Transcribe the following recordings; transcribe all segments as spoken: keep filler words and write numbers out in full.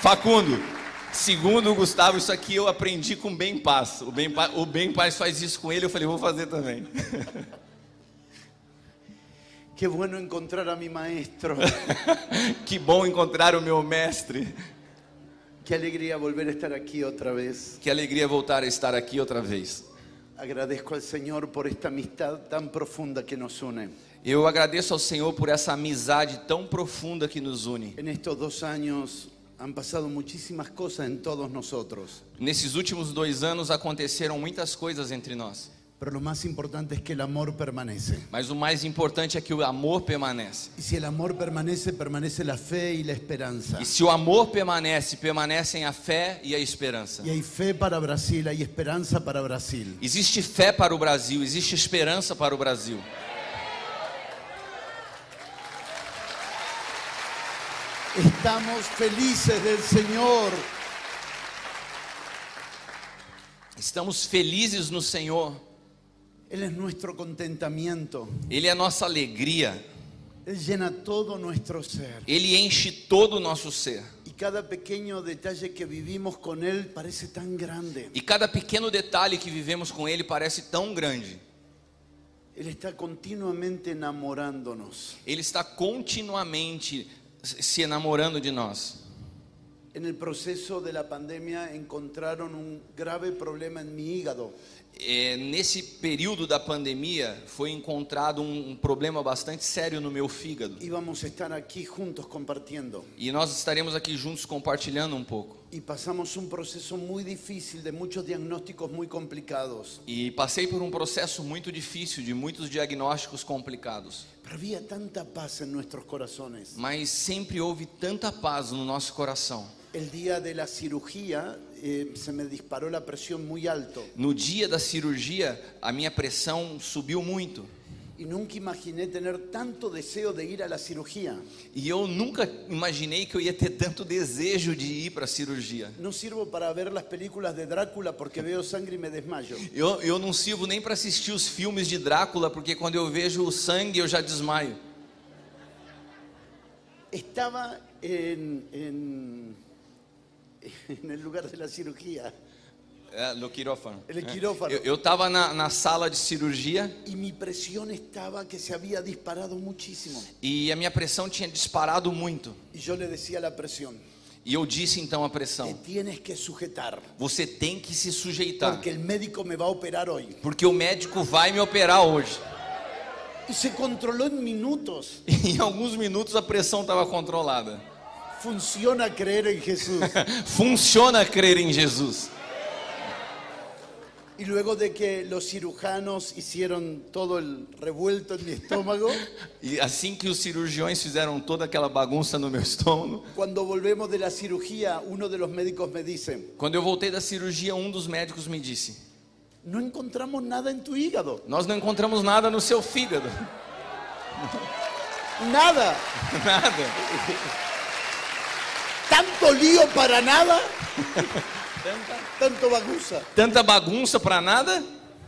Facundo, segundo o Gustavo, isso aqui eu aprendi com o Ben Paz. O Ben Paz, o Ben Paz faz isso com ele, eu falei, vou fazer também. Qué bueno encontrar a mi maestro. Que bom encontrar o meu mestre. Qué alegría volver a estar aquí otra vez. Que alegria voltar a estar aqui outra vez. Agradezco al Señor por esta amistad tan profunda que nos une. Eu agradeço ao Senhor por essa amizade tão profunda que nos une. En estos dos años han pasado muchísimas cosas en todos nosotros. Nesses últimos dois anos aconteceram muitas coisas entre nós. Pero lo más importante es que el amor permanece. Mas o mais importante é que o amor permanece. Y si el amor permanece, permanece la fe y la esperanza. E se o amor permanece, permanecem a fé e a esperança. Y hay fe para Brasil, hay esperanza para Brasil. Existe fé para o Brasil, existe esperança para o Brasil. Estamos felices del Señor. Estamos felizes no Senhor. Él es nuestro contentamiento. Ele é a nossa alegria. Él llena todo nuestro ser. Ele enche todo o nosso ser. Y cada pequeño detalle que vivimos con Él parece tan grande. E cada pequeno detalhe que vivemos com Ele parece tão grande. Él está continuamente enamorándonos. Ele está continuamente se enamorando de nós. En el proceso de la pandemia encontraron un grave problema en mi hígado. É, nesse período da pandemia foi encontrado um, um problema bastante sério no meu fígado. Íbamos a estar aquí juntos compartiendo. E nós estaremos aqui juntos compartilhando um pouco. Y pasamos un proceso muy difícil de muchos diagnósticos muy complicados. E passei por um processo muito difícil, de muitos diagnósticos complicados. Pero había tanta paz en nuestros corazones. Mas sempre houve tanta paz no nosso coração. El día de la cirugía eh, se me disparó la presión muy alto. No dia da cirurgia, a minha pressão subiu muito. Y nunca imaginé tener tanto deseo de ir a la cirugía. E eu nunca imaginei que eu ia ter tanto desejo de ir para a cirurgia. No sirvo para ver las películas de Drácula porque veo sangre y me desmayo. Eu, eu não sirvo nem para assistir os filmes de Drácula, porque quando eu vejo o sangue eu já desmaio. Estaba en, en, en el lugar de la cirugía. É, no quirófano. El quirófano. Eu estava na, na sala de cirurgia Y mi presión estaba que se había disparado muchísimo. e a minha pressão tinha disparado muito. Y yo le decía a la presión, E eu disse então a te pressão: tienes que sujetar, você tem que se sujeitar, porque el médico me va a operar hoy. porque o médico vai me operar hoje. Y se controló en minutos. E em alguns minutos a pressão estava controlada. Funciona creer en Jesús. Funciona crer em Jesus. Y luego de que los cirujanos hicieron todo el revuelto en mi estómago, E assim que os cirurgiões fizeram toda aquela bagunça no meu estômago, cuando volvemos de la cirugía, uno de los médicos me dice, quando eu voltei da cirurgia, um dos médicos me disse: no encontramos nada en tu hígado. nós não encontramos nada no seu fígado. Nada. Nada. Tanto lío para nada. Tanto bagunza. Tanta bagunça para nada.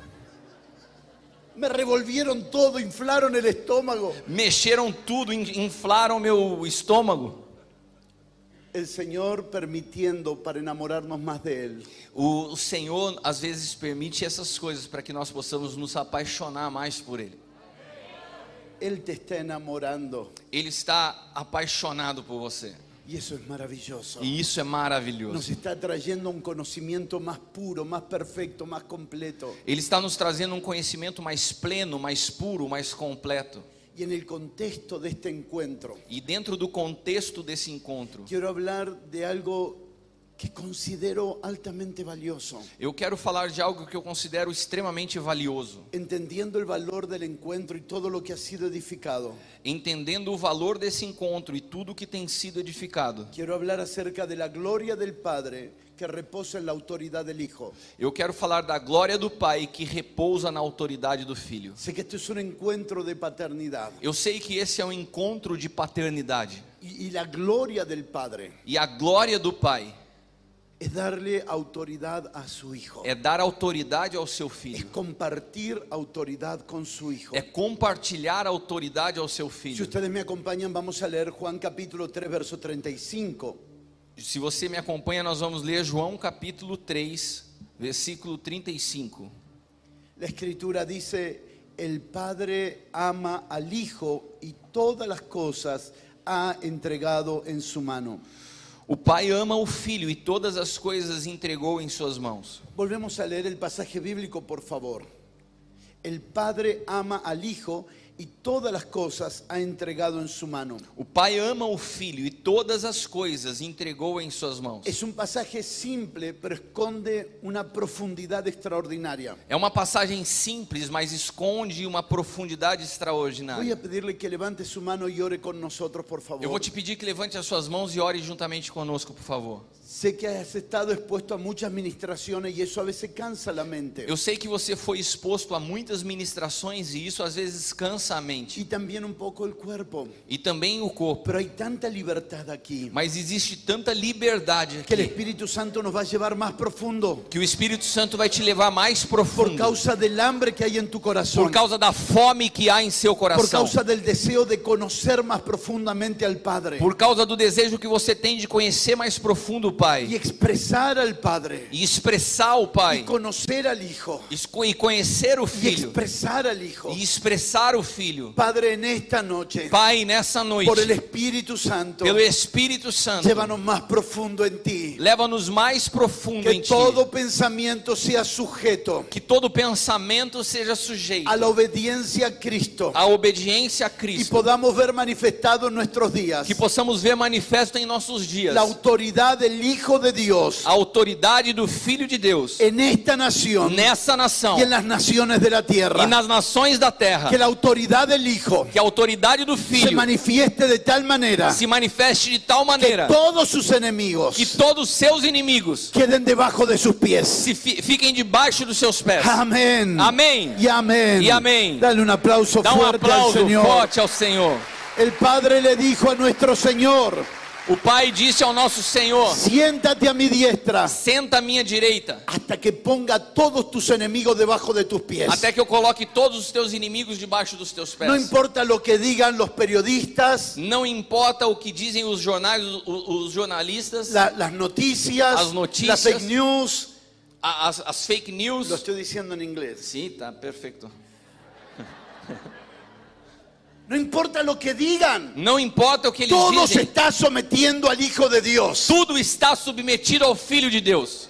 Me revolvieron todo, inflaron el estómago. Mexeram tudo, in- inflaram meu estômago. El Señor permitiendo para enamorarnos más de Él. O, o Senhor às vezes permite essas coisas para que nós possamos nos apaixonar mais por Ele. Él te está enamorando. Ele está apaixonado por você. Y eso es maravilloso. E isso é Nos maravilhoso. está trayendo un conocimiento más puro, más perfecto, más completo. Ele está nos trazendo um conhecimento mais pleno, mais puro, mais completo. Y en el contexto de este encuentro, E dentro do contexto desse encontro, quiero hablar de algo que considero altamente valioso. eu quero falar de algo que eu considero extremamente valioso. Entendiendo el valor del encuentro y todo lo que ha sido edificado, Entendendo o valor desse encontro e tudo que tem sido edificado, quiero hablar acerca de la gloria del Padre que reposa en la autoridad del Hijo. eu quero falar da glória do Pai que repousa na autoridade do Filho. Sé que esto es un encuentro de paternidad Eu sei que esse é um encontro de paternidade. y, y la gloria del Padre E a glória do Pai es darle autoridad a su Hijo. é dar autoridade ao seu Es Filho. compartir autoridad con su Hijo. É compartilhar a autoridade ao seu Si Filho. ustedes me acompañan, vamos a leer Juan capítulo tres, verso treinta y cinco. Se você me acompanha, nós vamos ler João capítulo três, versículo trinta e cinco. La Escritura dice, el Padre ama al Hijo y todas las cosas ha entregado en su mano. O Pai ama o Filho e todas as coisas entregou em suas mãos. Volvemos a leer el pasaje bíblico, por favor. El Padre ama al Hijo y todas las cosas ha entregado en su mano. O Pai ama o Filho e todas as coisas entregou em suas mãos. Es un pasaje simple, pero esconde una profundidad extraordinaria. É uma passagem simples, mas esconde uma profundidade Voy extraordinária. a pedirle que levante su mano y ore con nosotros, por favor. Eu vou te pedir que levante as suas mãos e ore juntamente conosco, por favor. Sé que has estado expuesto a muchas ministraciones y eso a veces cansa la mente. Eu sei que você foi exposto a muitas ministrações e isso às vezes cansa a mente. Y también un poco el cuerpo. E também o corpo. Pero hay tanta libertad aquí Mas existe tanta liberdade que el aqui, Espíritu Santo nos va a llevar más profundo que o Espírito Santo vai te levar mais por profundo. causa del hambre que hay en tu corazón, Por causa da fome que há em seu por coração. causa del deseo de conocer más profundamente al Padre Por causa do desejo que você tem de conhecer mais profundo o y Pai. expresar al Padre E expressar o y Pai. conocer al Hijo Esco- E conhecer o y Filho. expresar al Hijo. E expressar o Filho. Padre, en esta noche, Pai, nessa por el noite, Espíritu Santo, pelo Espírito Santo, llévanos más profundo en ti. leva-nos mais profundo Que em Ti. todo pensamiento sea sujeto Que todo pensamento seja sujeito a la obediencia a Cristo à obediência a y Cristo. podamos ver manifestado en nuestros días Que possamos ver manifesto em nossos dias la autoridad del Hijo de Dios a autoridade do Filho de Deus en esta nación nessa nação y en las naciones de la e tierra. nas nações da terra. Que la autoridad del Hijo Que a autoridade do se Filho manifieste de tal manera se manifeste de tal que maneira todos sus enemigos que todos seus inimigos queden debajo de sus pies. se fi- fiquem debaixo dos seus pés. Amén. Amém. Y amén. Y amén. Dale un aplauso Dá um fuerte al aplauso Señor. forte ao Senhor. El Padre le dijo a nuestro Señor, O Pai disse ao nosso Senhor: siéntate a mi diestra senta à minha direita, hasta que ponga todos tus enemigos debajo de tus pies. até que eu coloque todos os teus inimigos debaixo dos teus pés. No importa lo que digan los periodistas, Não importa o que dizem os jornais, os, os jornalistas, la- las noticias, As noticias. las fake news. a- as, as fake news. Lo estoy diciendo en inglés. Sim, tá perfeito. No importa lo que digan, Não importa o que eles todo se dizem, está sometiendo al Hijo de Dios. tudo está submetido ao Filho de Deus.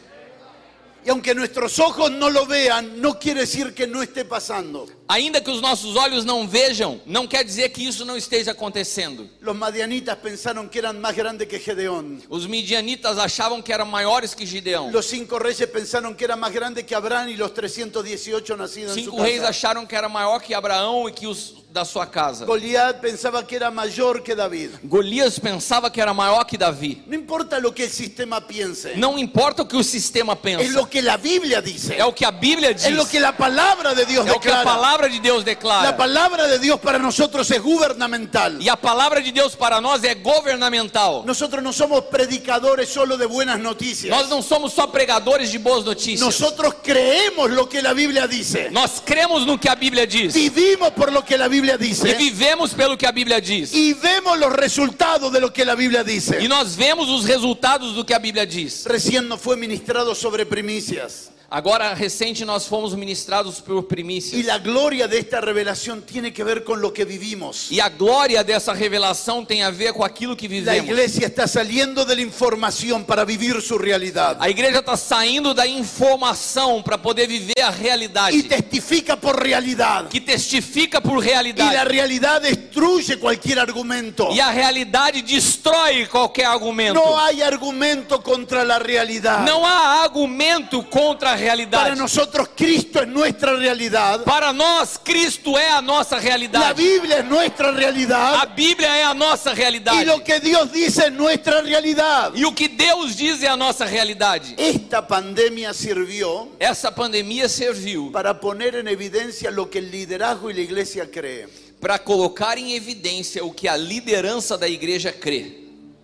Y aunque nuestros ojos no lo vean, no quiere decir que no esté pasando. Ainda que os nossos olhos não vejam, não quer dizer que isso não esteja acontecendo. Los madianitas pensaron que eran más grandes que Gedeón. Os midianitas achavam que eram maiores que Gideão. Los cinco reyes pensaron que eran más grandes que Abraham y los trescientos dieciocho nacidos en su Cinco reis casa. acharam que era maior que Abraão e que os da sua casa. Goliat pensaba que era mayor que David. Golias pensava que era maior que Davi. No importa lo que el sistema piense, Não importa o que o sistema es pensa, lo que la Biblia dice, é o que a Bíblia diz, es lo que la palabra de Dios é o que a declara. palavra de Deus La declara. palabra de Dios para nosotros es gubernamental. E a palavra de Deus para nós é governamental. Nosotros no somos predicadores solo de buenas noticias. Nós não somos só pregadores de boas notícias. Nosotros creemos lo que la Biblia dice. Nós cremos no que a Bíblia diz. Vivimos por lo que la Biblia E dice. vivemos pelo que a Bíblia diz. Y vemos los resultados de lo que la Biblia E dice. nós vemos os resultados do que a Bíblia diz. Recién nos fue ministrado sobre primicias. Agora, recente, nós fomos ministrados por Y primícias. la gloria de esta revelación tiene que ver con lo que vivimos. E a glória dessa revelação tem a ver com aquilo que La vivemos. iglesia está saliendo de la información para vivir su realidad. A igreja está saindo da informação para poder viver a realidade. Y testifica por realidad. Que testifica por Y la realidade. realidad destruye cualquier argumento. E a realidade destrói qualquer argumento. No hay argumento contra la realidad. Não há argumento contra a Para realidade. nosotros Cristo es nuestra realidad. Para nós, Cristo é a nossa La realidade. Biblia es nuestra A realidad. Bíblia é a nossa Y realidade. lo que Dios dice es nuestra realidad. E o que Deus diz é a nossa realidade. Esta pandemia sirvió Essa pandemia serviu para poner en evidencia lo que el liderazgo y la iglesia cree. para colocar em evidência o que a liderança da igreja crê.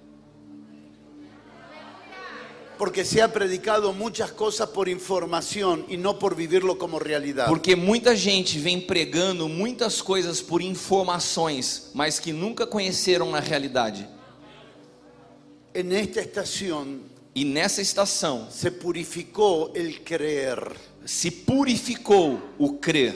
Porque se ha predicado muchas cosas por información y no por vivirlo como realidad. Porque muita gente vem pregando muitas coisas por informações, mas que nunca conheceram na realidade. En esta estación E nessa estação se purificó el creer. se purificou o crer.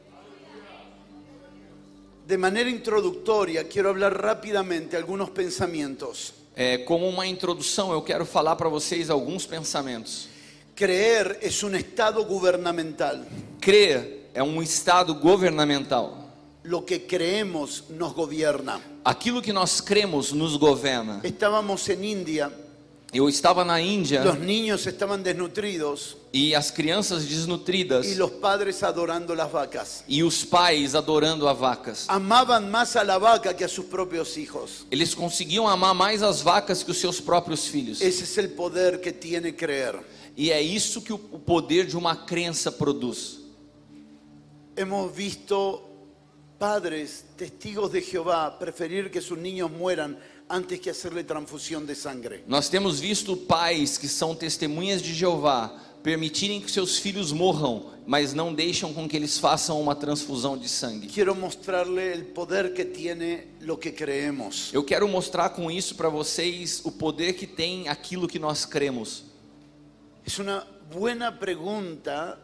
De manera introductoria, quiero hablar rápidamente algunos pensamientos. É, como uma introdução, eu quero falar para vocês alguns pensamentos. Creer es un estado gubernamental. Crer é um estado governamental. Lo que creemos nos gobierna. Aquilo que nós cremos nos governa. Estábamos en India, Eu estava na Índia los niños estaban desnutridos e as crianças desnutridas y los padres adorando las vacas. e os pais adorando a vacas. Amaban más a la vaca que a sus propios hijos. Eles conseguiam amar mais as vacas que os seus próprios filhos. Ese es el poder que tiene creer. E é isso que o poder de uma crença produz. Hemos visto padres, testigos de Jehová, preferir que sus niños mueran antes que hacerle transfusión de sangre. Nós temos visto pais que são testemunhas de Jeová permitirem que seus filhos morram, mas não deixam com que eles façam uma transfusão de sangue. Quiero mostrarle el poder que tiene lo que creemos. Eu quero mostrar com isso para vocês o poder que tem aquilo que nós cremos. Es una buena pregunta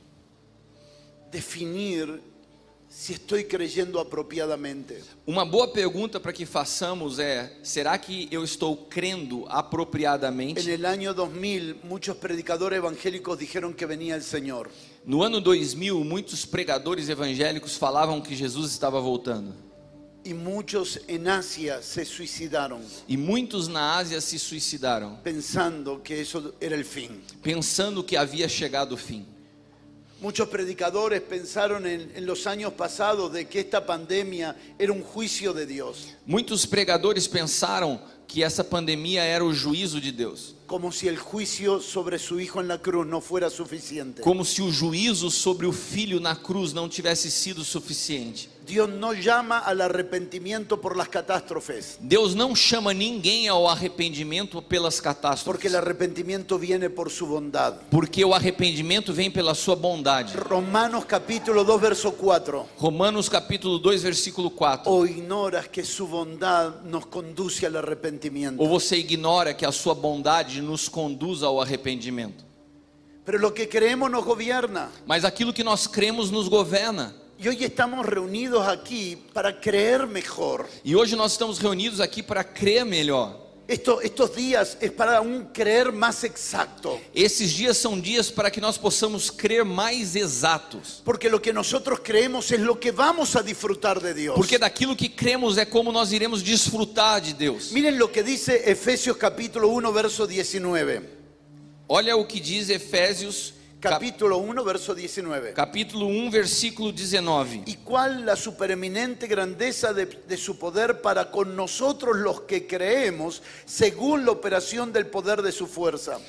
definir si estoy creyendo apropiadamente. Uma boa pergunta para que façamos é: será que eu estou crendo En apropriadamente? el año dos mil, muchos predicadores evangélicos dijeron que venía el Señor. No ano dois mil, muitos pregadores evangélicos falavam que Jesus estava voltando. Y muchos en Asia se suicidaron E muitos na Ásia se suicidaram, pensando que eso era el fin. pensando que havia chegado o fim. Muchos predicadores pensaron en, en los años pasados de que esta pandemia era un juicio de Dios, Muitos pregadores pensaram que essa pandemia era o juízo de Deus, como si el juicio sobre su hijo en la cruz no fuera suficiente. como se o juízo sobre o filho na cruz não tivesse sido suficiente. Dios no llama al arrepentimiento por las catástrofes, Deus não chama ninguém ao arrependimento pelas porque catástrofes, el arrepentimiento viene por su bondad. porque o arrependimento vem pela sua bondade. Romanos capítulo dos, verso cuatro. Romanos capítulo dois, versículo quatro. O ignoras que su bondad nos conduce al arrepentimiento. Ou você ignora que a sua bondade nos conduz ao arrependimento? Pero lo que creemos nos gobierna. Mas aquilo que nós cremos nos governa. Y hoy estamos reunidos aquí para creer mejor. E hoje nós estamos reunidos aqui para crer melhor. Esto, estos días es para un creer más exacto. Esses dias são dias para que nós possamos crer mais exatos. Porque lo que nosotros creemos es lo que vamos a disfrutar de Dios. Porque daquilo que cremos é como nós iremos desfrutar de Deus. Miren lo que dice Efesios capítulo uno, verso diecinueve. Olha o que diz Efésios cap- Capítulo uno, verso diecinueve. capítulo um, versículo dezenove. Y cuál la supereminente grandeza de, de su poder para con nosotros los que creemos, según la operación del poder de su fuerza.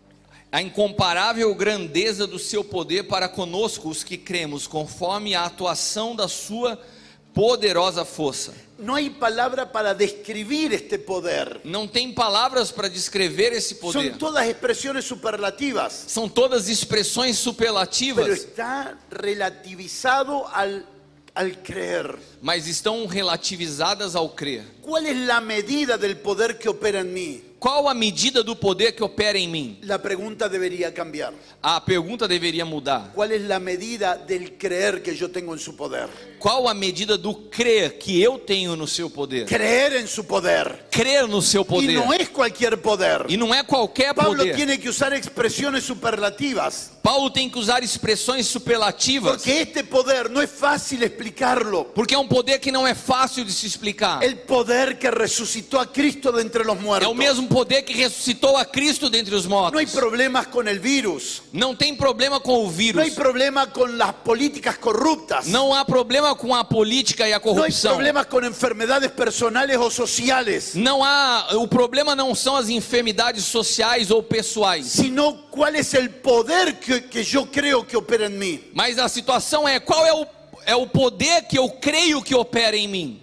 A incomparável grandeza do seu poder para conosco os que cremos, conforme a atuação da sua poderosa força. No hay palabra para describir este poder. Não tem palavras para descrever esse poder. Son todas expresiones superlativas, São todas expressões pero superlativas, está relativizado al, al creer. mas estão relativizadas ao crer. ¿Cuál es la medida del poder que opera en mí? Qual a medida do poder que opera em mim? La pregunta debería cambiar. A pergunta deveria mudar. ¿Cuál es la medida del creer que yo tengo en su poder? Qual a medida do crer que eu tenho no seu poder? Creer en su poder. Crer no seu Y poder. no es cualquier poder. E não é qualquer Pablo poder. tiene que usar expresiones superlativas, Paulo tem que usar expressões superlativas, porque este poder no es fácil explicarlo. porque é um poder que não é fácil de se explicar. El poder que resucitó a Cristo de entre los É muertos. o mesmo poder que ressuscitou a Cristo dentre os No hay mortos. problemas con el virus. Não tem problema com o No vírus. hay problema con las políticas corruptas. Não há problema com a política e a No hay corrupção. problemas con enfermedades personales o sociales. Não há, o problema não são as enfermidades sociais ou pessoais, Sino cuál es el poder que, que yo creo que opera en mí. mas a situação é qual é o, é o poder que eu creio que opera em mim.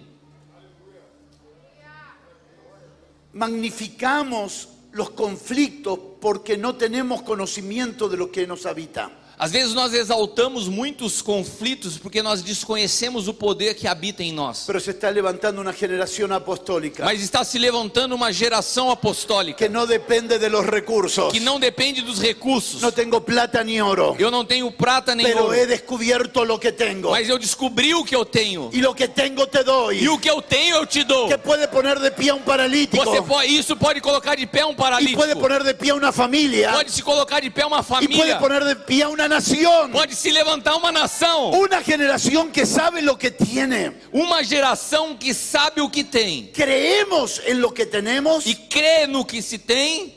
Magnificamos los conflictos porque no tenemos conocimiento de lo que nos habita. Às vezes nós exaltamos muitos conflitos porque nós desconhecemos o poder que habita em nós. Pero se está levantando una generación apostólica Mas está se levantando uma geração apostólica que no depende de los recursos. que não depende dos recursos. No tengo plata ni oro, Eu não tenho prata nem pero ouro, he descubierto lo que tengo. mas eu descobri o que eu tenho. Y lo que tengo te doy. E o que eu tenho eu te dou. Que puede poner de pie a un paralítico. Você pode, isso pode colocar de pé um Y paralítico. puede poner de pie a una familia. Pode se colocar de pé uma Y puede família. poner de pie a una nación. Pode se levantar uma nação. Una generación que sabe lo que tiene. Uma geração que sabe o que tem Creemos en lo que tenemos. e crê no que se tem.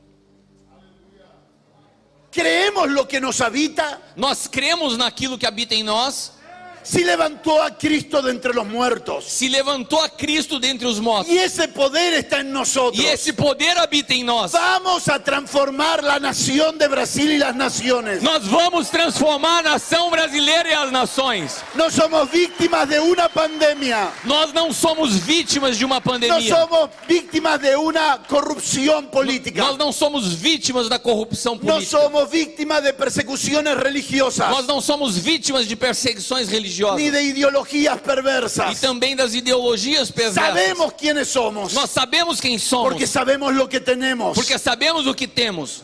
Creemos lo que nos habita. Nós cremos naquilo que habita em nós. Si levantó a Cristo de entre los muertos. Se levantou a Cristo dentre os mortos. Y ese poder está en nosotros. E esse poder habita em nós. Vamos a transformar la nación de Brasil y las naciones. Nós vamos transformar a nação brasileira e as nações. No somos víctimas de una pandemia. Nós não somos vítimas de uma No pandemia. somos víctimas de una corrupción política. Nós não somos vítimas da corrupção No política. somos víctimas de persecuciones religiosas. Nós não somos vítimas de perseguições religiosas. Ni de ideologías E perversas. também das ideologias perversas. Sabemos quiénes somos. Nós sabemos quem somos. Porque sabemos lo que tenemos. Porque sabemos o que temos.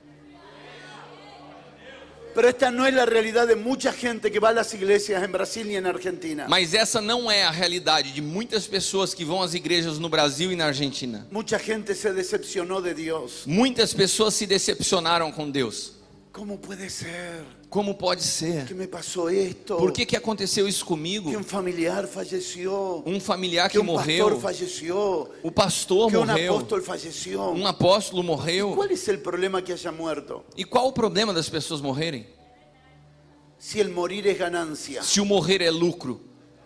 Pero esta no es la realidad de mucha gente que va a las iglesias en Brasil y en Argentina. Mas essa não é a realidade de muitas pessoas que vão às igrejas no Brasil e na Argentina. Mucha gente se decepcionó de Dios. Muitas pessoas se decepcionaram com Deus. ¿Cómo puede ser Como pode ser? que me pasó esto? Por que que aconteceu isso comigo? Que un familiar falleció. Um familiar Que que un pastor morreu, falleció. o pastor Que un morreu, apóstol falleció. um apóstolo morreu. ¿Cuál es el problema que haya muerto? E qual o problema das pessoas morrerem? Si el morir es ganancia. Se o morrer é lucro.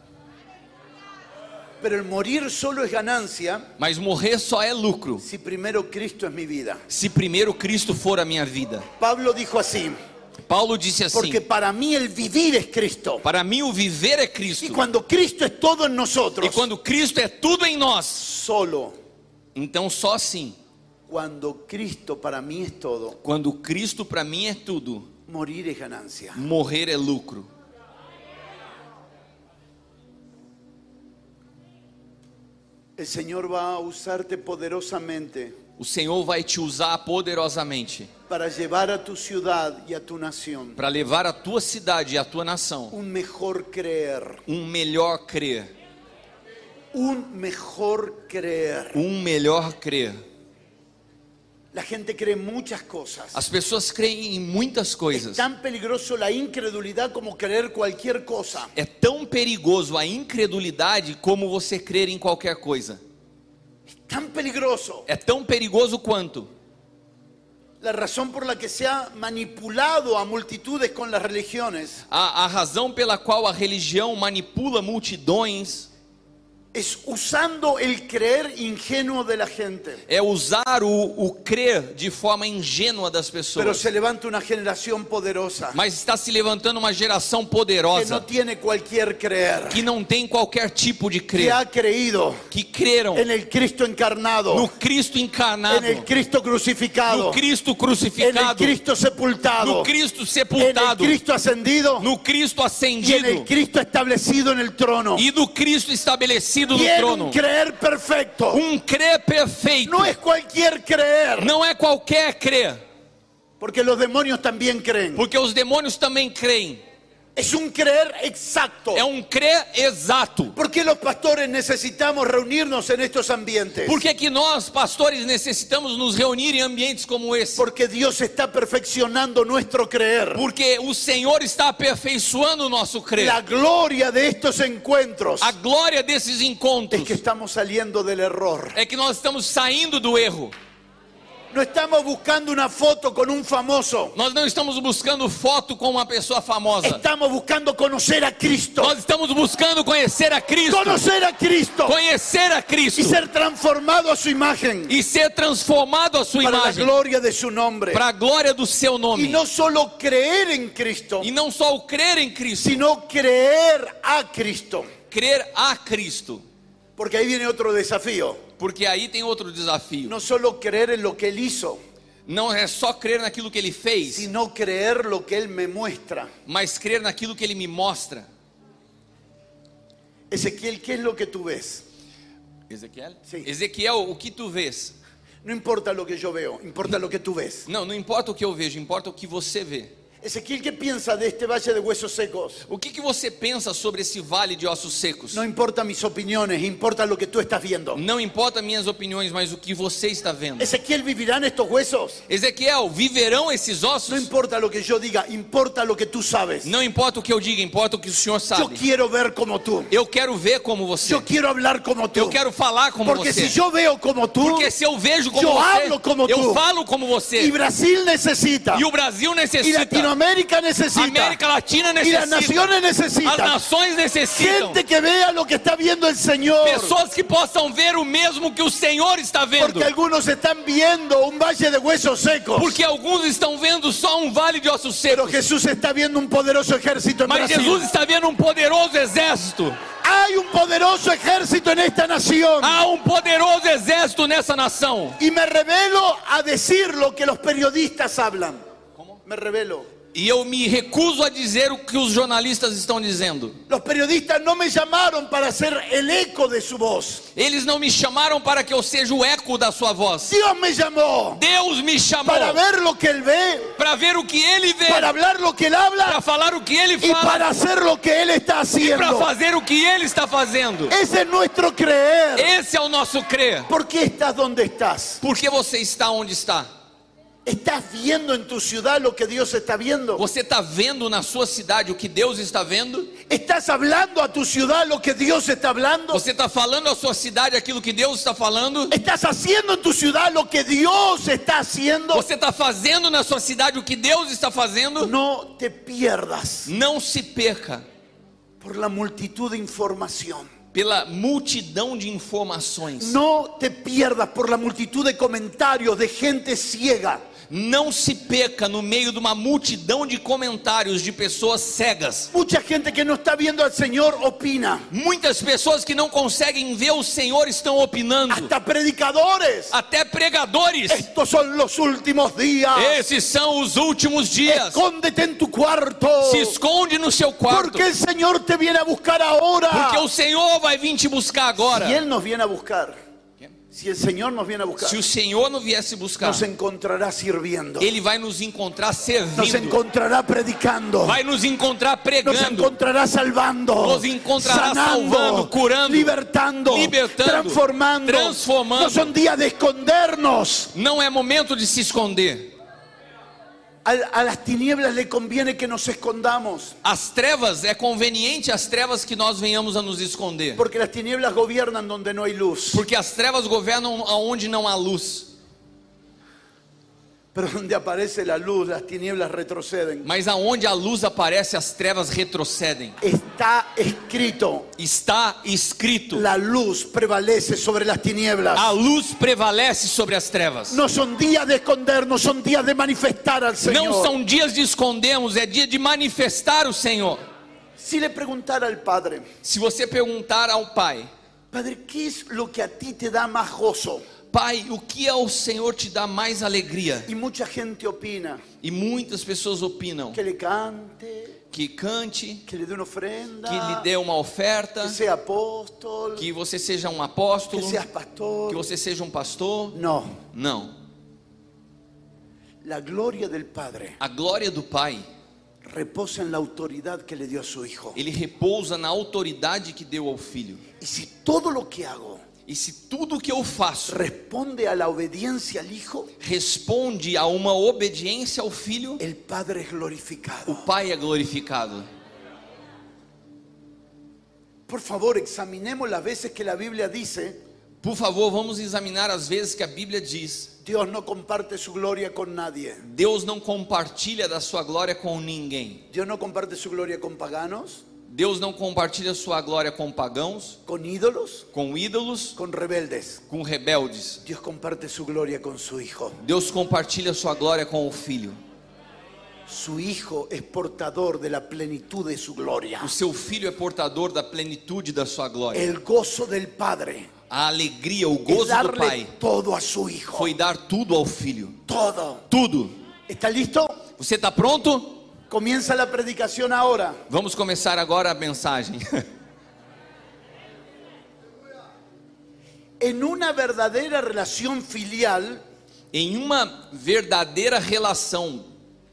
Pero el morir solo es ganancia Mas morrer só é lucro si primero Cristo es mi vida. se primeiro Cristo for a minha vida. Pablo dijo así, Paulo disse assim: porque para mí el vivir es Cristo. para mim o viver é Y Cristo. cuando Cristo es todo en E nosotros, quando Cristo é tudo em nós, solo então só assim. cuando Cristo para mí es todo, Quando Cristo para mim é tudo, morir es ganancia. morrer é lucro. El Señor va a usarte poderosamente O Senhor vai te usar poderosamente para llevar a tu ciudad y a tu nación para levar a tua cidade e a tua nação un mejor creer, um melhor crer, un mejor creer. um melhor crer. La gente cree muchas cosas. As pessoas creem em muitas Es coisas. tan peligroso la incredulidad como creer cualquier cosa. É tão perigoso a incredulidade como você crer em qualquer coisa. Es tan peligroso. É tão perigoso quanto. La razón por la que se ha manipulado a multitudes con las religiones A, a razão pela qual a religião manipula multidões es usando el creer ingenuo de la gente. é usar o, o crer de forma ingênua das Pero pessoas. se levanta una generación poderosa Mas está se levantando uma geração que poderosa no tiene cualquier creer, que não tem qualquer tipo de que crer, ha creído que creram en el Cristo encarnado, no Cristo en encarnado, el Cristo crucificado, no Cristo en el crucificado, Cristo sepultado, no Cristo en el sepultado, Cristo ascendido no Cristo y en ascendido el Cristo establecido en el trono. e do Cristo estabelecido no Tiene trono. un creer perfecto. Um crer perfeito. No es cualquier creer, Não é qualquer crer, porque los demonios también creen. porque os demônios também creem. Es un creer exacto. É um crer exato. ¿Por qué los pastores necesitamos reunirnos en estos ambientes? Por que que nós, pastores, necessitamos nos reunir em ambientes como esse? Porque Dios está perfeccionando nuestro creer. Porque o Senhor está aperfeiçoando o nosso crer. La gloria de estos encuentros A glória desses es encontros que estamos saliendo del error. é que nós estamos saindo do erro. No estamos buscando una foto con un famoso. Nós não estamos buscando foto com uma pessoa famosa. Estamos buscando conocer a Cristo. Nós estamos buscando conhecer a Cristo. Conocer a Cristo Conhecer a Cristo. y ser transformado a su imagen E ser transformado a sua para la imagem. gloria de su nombre. Para a glória do seu Y nome. no solo creer en Cristo, E não só o crer em Cristo, sino creer a Cristo. crer a Cristo. Porque ahí viene otro desafío. Porque aí tem outro desafio. No solo creer en lo que Él hizo, Não é só crer naquilo que Ele fez, sino creer lo que Él me muestra. mas crer naquilo que Ele me mostra. Ezequiel, ¿qué es lo que tú ves? Ezequiel? Sim. Ezequiel, o que tu vês? No importa lo que yo veo, importa lo que tú ves. Não, não importa o que eu vejo, importa o que você vê. Ezequiel, ¿qué piensa de este valle de huesos secos? O que, que você pensa sobre esse vale de ossos secos? No importa mis opiniones, importa lo que tú estás viendo. Não importa minhas opiniões, mas o que você está vendo. Ezequiel, ¿vivirán estos huesos? Ezequiel, viverão esses No ossos? importa lo que yo diga, importa lo que tú sabes. Não importa o que eu diga, importa o que o Senhor Yo sabe. quiero ver como tú. Eu quero ver como você. Yo quiero hablar como tú. Eu quero falar como Porque você. si yo veo como tú, Porque se eu vejo como eu você, hablo como eu tu. falo como você. y Brasil necesita, E o Brasil y necessita. Latinoamérica necesita, América Latina y las necessita. naciones As necesitan nações necessitam. gente que vea lo que está viendo el Señor. Pessoas que possam ver o mesmo que o Senhor está vendo. Porque algunos están viendo un valle de huesos secos, Porque alguns estão vendo só um vale de ossos pero secos. Jesús está viendo un poderoso ejército en Mas Brasil. Jesus está vendo um poderoso exército. Hay un poderoso ejército en esta nación. Há um poderoso exército nessa nação. Y me revelo a decir lo que los periodistas hablan. Me revelo. E eu me recuso a dizer o que os jornalistas estão dizendo. Los periodistas no me llamaron para ser el eco de su voz. Eles não me chamaram para que eu seja o eco da sua voz. Dios me llamó Deus me chamou para ver lo que Él ve, para ver o que Ele vê, para hablar lo que Él para habla falar o que Ele y fala, para hacer lo que Él está para haciendo. fazer o que Ele está fazendo. Ese es nuestro creer. Esse é o nosso crer. ¿Por qué estás donde estás? Por que você está onde está? ¿Estás viendo en tu ciudad lo que Dios está viendo? Você está vendo na sua cidade o que Deus está vendo? ¿Estás hablando a tu ciudad lo que Dios está hablando? Você está falando à sua cidade aquilo que Deus está falando? ¿Estás haciendo en tu ciudad lo que Dios está haciendo? Você está fazendo na sua cidade o que Deus está fazendo? No te pierdas Não se perca por la multitud de información. pela multidão de informações. No te pierdas por la multitud de comentarios de gente ciega. Não se perca no meio de uma multidão de comentários de pessoas cegas. Mucha gente que no está viendo al Señor opina. Muitas pessoas que não conseguem ver o Senhor estão opinando. Hasta predicadores. Até pregadores. Estos son los últimos días. Esses são os últimos dias. Escóndete en tu cuarto. Se esconde no seu quarto. Porque el Señor te viene a buscar ahora. Porque o Senhor vai vir te buscar agora. Si Él nos viene a buscar, si el Señor nos viene a buscar, Se o Senhor não viesse buscar, nos encontrará sirviendo. Ele vai nos encontrar Nos servindo. encontrará predicando. Vai nos encontrar Nos pregando. encontrará salvando. Nos encontrará sanando, salvando, curando, libertando, libertando, transformando. transformando. No son días de escondernos. Não é momento de se esconder. A, a las tinieblas le conviene que nos escondamos. As trevas, é conveniente as trevas que nós venhamos a nos esconder. Porque las tinieblas gobiernan donde no hay luz. Porque as trevas governam aonde não há luz. Pero donde aparece la luz, las tinieblas retroceden. Mas aonde a luz aparece, as trevas retrocedem. Está escrito: Está escrito: la luz prevalece sobre las tinieblas. a luz prevalece sobre as trevas. No son días de escondernos, son días de manifestar al Señor. Não são dias de escondermos, é dia de manifestar o Senhor. Si le preguntara al Padre: Se você perguntar ao Pai: Padre, ¿qué es lo que a ti te da más gozo? Pai, o que ao Senhor te dá mais alegria? Y mucha gente opina: E muitas pessoas opinam que le cante, que cante, que le dé una ofrenda, que lhe dê uma oferta, que sea apóstol, que você seja um que apóstolo, seas pastor. que você seja um pastor. No, Não. la gloria del Padre A glória do Pai, reposa en la autoridad que le dio a su Hijo. ele repousa na autoridade que deu ao Filho. Y si todo lo que hago E se tudo que eu faço responde a la obediencia al Hijo, responde a uma obediência ao Filho, el Padre es o glorificado. Pai é glorificado. Por favor, examinemos las veces que la Biblia dice: Por favor, vamos examinar as vezes que a Bíblia diz: Dios no comparte su gloria con nadie. Deus não compartilha da sua glória com ninguém. Dios no comparte su gloria con paganos, Deus não compartilha sua glória com pagãos, con ídolos, com ídolos, con rebeldes. com rebeldes. Dios comparte su gloria con su Hijo. Deus compartilha sua glória com o Filho. Su Hijo es portador de la plenitud de su gloria. O seu Filho é portador da plenitude da sua glória. El gozo del Padre A A alegria, o es gozo do darle pai todo a su hijo. foi dar tudo ao filho. Todo. Tudo. ¿Está listo? Você está pronto? Comienza la predicación ahora. Vamos começar agora a mensagem. En una verdadera relación filial, Em uma verdadeira relação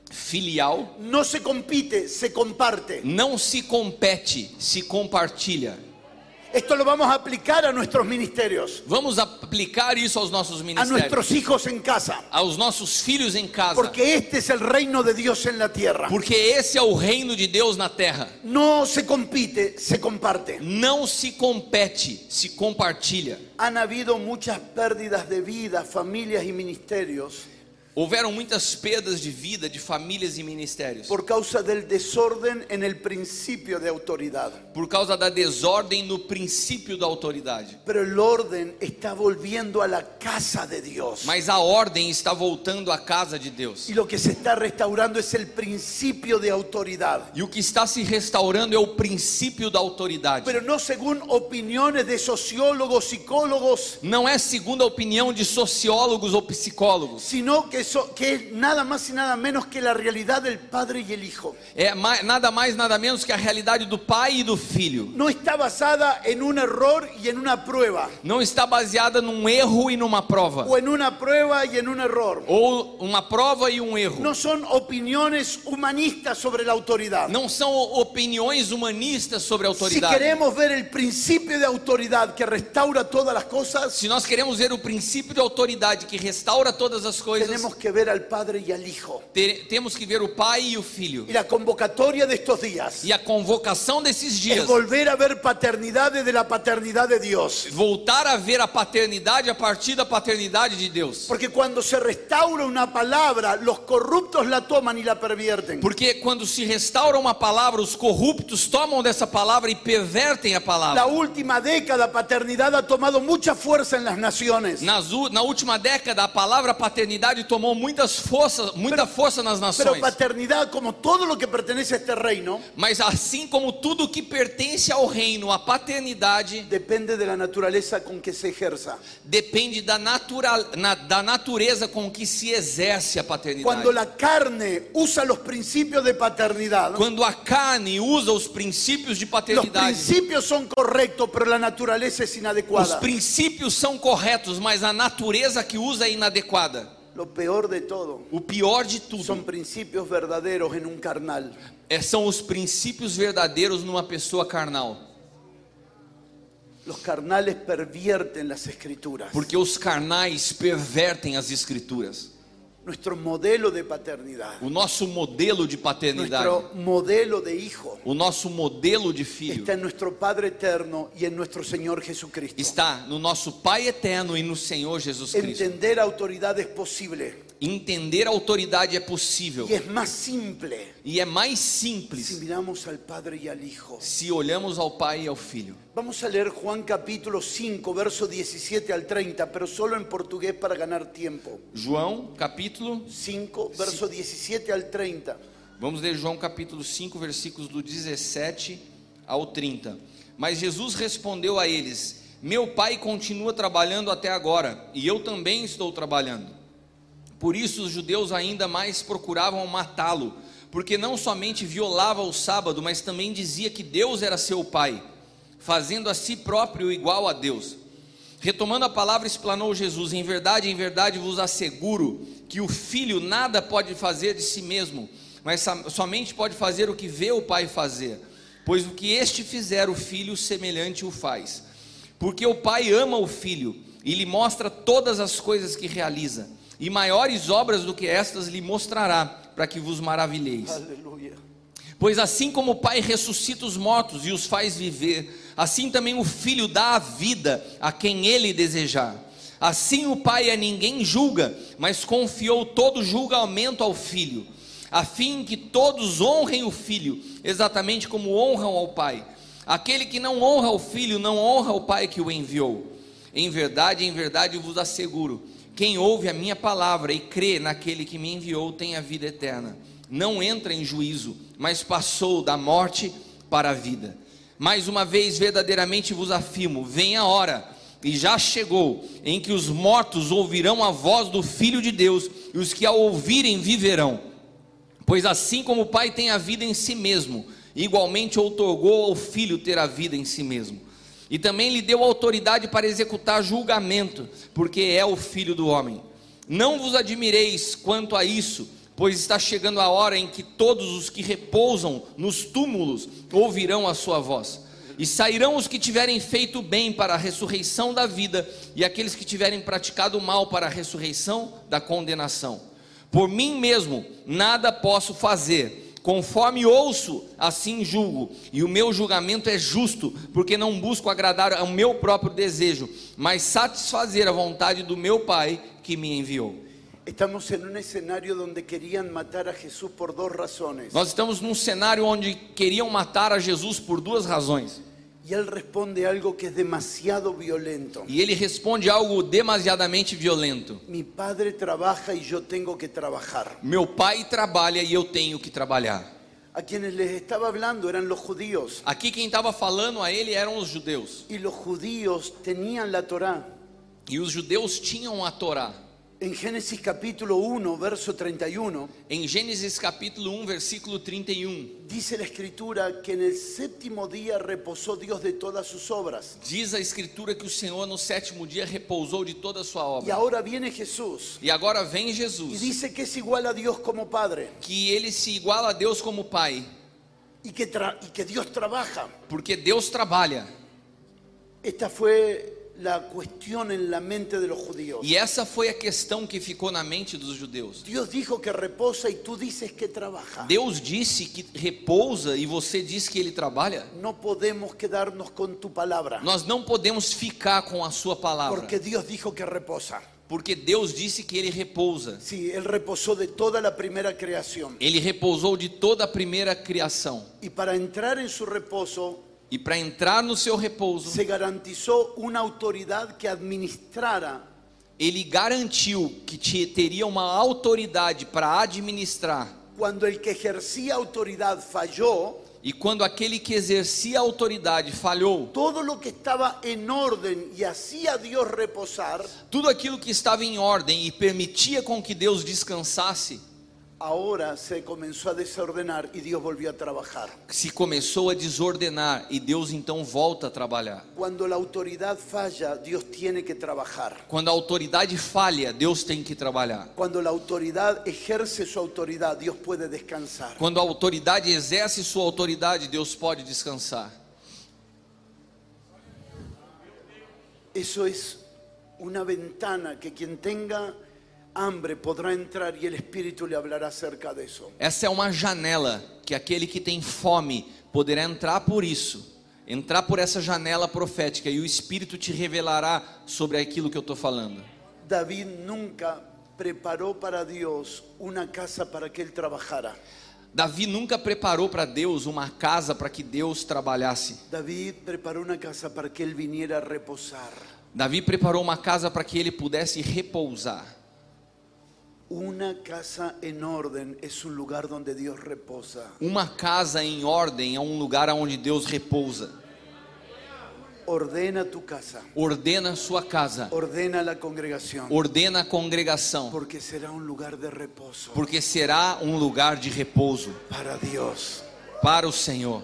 filial, no se compite, se comparte. não se compete, se compartilha. Esto lo vamos a aplicar a nuestros ministerios, Vamos aplicar isso aos nossos a ministérios, nuestros hijos en casa, aos nossos filhos em casa, porque este es el reino de Dios en la tierra. porque esse é o reino de Deus na terra. No se compite, se comparte. Não se compete, se compartilha. Han habido muchas pérdidas de vida, familias y ministerios Houveram muitas perdas de vida de famílias e ministérios por causa del desorden en el principio de autoridad. por causa da desordem no princípio da autoridade. Pero el orden está volviendo a la casa de Dios. Mas a ordem está voltando à casa de Deus. Y lo que se está restaurando es el principio de autoridad. E o que está se restaurando é o princípio da autoridade. Pero no según opiniones de sociólogos, psicólogos, Não é segundo a opinião de sociólogos ou psicólogos. sino que, so- que es nada más y nada menos que la realidad del Padre y el Hijo. É ma- nada mais, nada menos que a realidade do pai e do filho. No está basada en un error y en una prueba, Não está baseada num erro e numa prova. o en una prueba y en un error. Ou uma prova e um erro. No son opiniones humanistas sobre la autoridad. Não são opiniões humanistas sobre a Si autoridade. queremos ver el principio de autoridad que restaura todas las cosas, Se nós queremos ver o princípio de autoridade que restaura todas as coisas, tenemos que ver al Padre y al Hijo. te- temos que ver o pai e o filho. Y la convocatoria de estos días E a convocação desses es dias, volver a ver paternidad desde la paternidad de Dios. voltar a ver a paternidade a partir da paternidade de Deus. Porque cuando se restaura una palabra, los corruptos la toman y la pervierten. Porque quando se restaura uma palavra, os corruptos tomam dessa palavra e pervertem a La palavra. última década, paternidad ha tomado mucha fuerza en las naciones. Nas u- na última década, a palavra paternidade tomou muitas forças, muita força nas Pero nações. paternidad, como todo lo que pertenece a este reino, Mas assim como tudo que pertence ao reino, a paternidade depende de la naturaleza con que se ejerza. depende da, natural, na, da natureza com que se exerce a paternidade. Cuando la carne usa los principios de paternidad, Quando a carne usa os princípios de los paternidade, principios son correctos, pero la naturaleza es os inadecuada. princípios são corretos, mas a natureza que usa é inadequada. Lo peor de todo O pior de tudo son principios verdaderos en un carnal. é, são os princípios verdadeiros numa pessoa carnal. Los carnales pervierten las escrituras. Porque os carnais pervertem as escrituras. Nuestro modelo de paternidad, O nosso modelo de paternidade, nuestro modelo de hijo, o nosso modelo de filho, está en nuestro Padre eterno y en nuestro Señor Jesucristo. está no nosso Pai eterno e no Senhor Jesus Cristo. Entender autoridad es posible Entender a autoridade é possível y es más simple e é mais si simples miramos al Padre y al Hijo. se olhamos ao Pai e ao Filho. Vamos a leer Juan capítulo cinco, verso diecisiete al treinta, pero solo en portugués para ganar tiempo. João, capítulo, cinco, verso diecisiete al treinta. vamos ler João capítulo cinco, versículos do dezessete ao trinta. Mas Jesus respondeu a eles: Meu Pai continua trabalhando até agora, e eu também estou trabalhando. Por isso os judeus ainda mais procuravam matá-lo, porque não somente violava o sábado, mas também dizia que Deus era seu Pai, fazendo a si próprio igual a Deus. Retomando a palavra, explanou Jesus: Em verdade, em verdade vos asseguro que o Filho nada pode fazer de si mesmo, mas somente pode fazer o que vê o Pai fazer, pois o que este fizer, o Filho semelhante o faz. Porque o Pai ama o Filho e lhe mostra todas as coisas que realiza, e maiores obras do que estas lhe mostrará, para que vos maravilheis. Aleluya. Pois assim como o Pai ressuscita os mortos e os faz viver, assim também o Filho dá a vida a quem ele desejar. Assim o Pai a ninguém julga, mas confiou todo julgamento ao Filho, a fim que todos honrem o Filho, exatamente como honram ao Pai. Aquele que não honra o Filho, não honra o Pai que o enviou. Em verdade, em verdade vos asseguro, quem ouve a minha palavra e crê naquele que me enviou tem a vida eterna. Não entra em juízo, mas passou da morte para a vida. Mais uma vez, verdadeiramente vos afirmo, vem a hora, e já chegou, em que os mortos ouvirão a voz do Filho de Deus, e os que a ouvirem viverão. Pois assim como o Pai tem a vida em si mesmo, igualmente outorgou ao Filho ter a vida em si mesmo. E também lhe deu autoridade para executar julgamento, porque é o Filho do homem. Não vos admireis quanto a isso, pois está chegando a hora em que todos os que repousam nos túmulos ouvirão a sua voz. E sairão os que tiverem feito bem para a ressurreição da vida, e aqueles que tiverem praticado o mal para a ressurreição da condenação. Por mim mesmo nada posso fazer, conforme ouço, assim julgo, e o meu julgamento é justo, porque não busco agradar ao meu próprio desejo, mas satisfazer a vontade do meu Pai que me enviou. Estamos en un escenario donde querían matar a Jesús por dos razones. Nós estamos num cenário onde queriam matar a Jesus por duas razões. Y él responde algo que es demasiado violento. E ele responde algo demasiadamente violento. Mi padre trabaja y yo tengo que trabajar. Meu pai trabalha e eu tenho que trabalhar. A quienes les estaba hablando eran los judíos. Aqui quem estava falando a ele eram os judeus. Y los judíos tenían la Torá. E os judeus tinham a Torá. En Génesis capítulo uno, verso treinta y uno, Em Gênesis capítulo um, versículo trinta e um, dice la escritura que en el séptimo día reposó Dios de todas sus obras. diz a escritura que o Senhor no sétimo dia repousou de toda a sua Y obra. ahora viene Jesús E agora vem y Jesus, dice que es igual a Dios como Padre que ele se iguala a Deus como Pai, y que, tra- y que Dios trabaja. porque Deus trabalha. Esta fue la cuestión en la mente de los judíos. E essa foi a questão que ficou na mente dos judeus. Dios dijo que reposa y tú dices que trabaja. Deus disse que repousa e você diz que ele trabalha. No podemos quedarnos con tu palabra, Nós não podemos ficar com a sua palavra, porque Dios dijo que reposa. porque Deus disse que ele repousa. Sí, Él reposó de toda la primera creación. Ele repousou de toda a primeira criação. Y para entrar en su reposo E para entrar no seu repouso, se garantizó una autoridad que administrara ele garantiu que te- teria uma autoridade para administrar. cuando el que ejercía autoridad falló. E quando aquele que exercia a autoridade falhou, Todo lo que estaba en orden y hacía a Dios reposar, tudo aquilo que estava em ordem e permitia com que Deus descansasse, ahora se comenzó a desordenar y Dios volvió a trabajar. se começou a desordenar e Deus então volta a trabalhar. Cuando la autoridad falla, Dios tiene que trabajar. Quando a autoridade falha, Deus tem que trabalhar. Cuando la autoridad ejerce su autoridad, Dios puede descansar. Quando a autoridade exerce sua autoridade, Deus pode descansar. Eso es una ventana que quien tenga hambre podrá entrar y el Espíritu le hablará acerca de eso. Essa é uma janela que aquele que tem fome poderá entrar por isso, entrar por essa janela profética e o Espírito te revelará sobre aquilo que eu estou falando. David nunca preparó para Dios una casa para que él trabajara. Davi nunca preparou para Deus uma casa para que Deus trabalhasse. David preparó una casa para que él viniera a reposar. Davi preparou uma casa para que ele pudesse repousar. Una casa en orden es un lugar donde Dios reposa. Uma casa em ordem é um lugar onde Deus repousa. Ordena tu casa, Ordena a sua casa, ordena la congregación, ordena a congregação, porque será un lugar de reposo porque será um lugar de repouso para Dios. para o Senhor.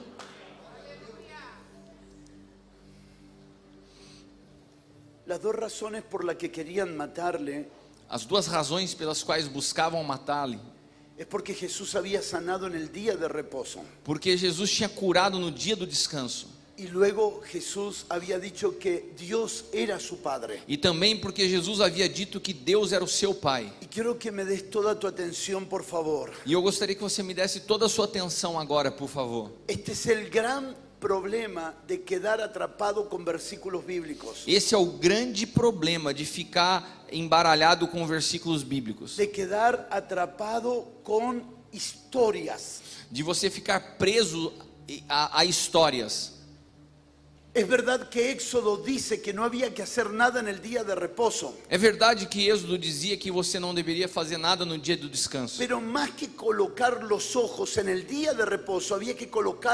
Las dos razones por las que querían matarle As duas razões pelas quais buscavam matá-lo, es porque Jesús había sanado en el día de reposo. porque Jesus tinha curado no dia do descanso. Y luego Jesús había dicho que Dios era su Padre. E também porque Jesus havia dito que Deus era o seu Pai. Y quiero que me des toda tu atención, por favor. E eu gostaria que você me desse toda a sua atenção agora, por favor. Este es el gran problema de quedar atrapado con versículos bíblicos. Esse é o grande problema de ficar embaralhado com versículos bíblicos. De quedar atrapado con historias. De você ficar preso a, a histórias. Es verdad que Éxodo dice que no había que hacer nada en el día de reposo. É verdade que Êxodo dizia que você não deveria fazer nada no dia do descanso. Pero más que colocar los ojos en el día de reposo, había que colocar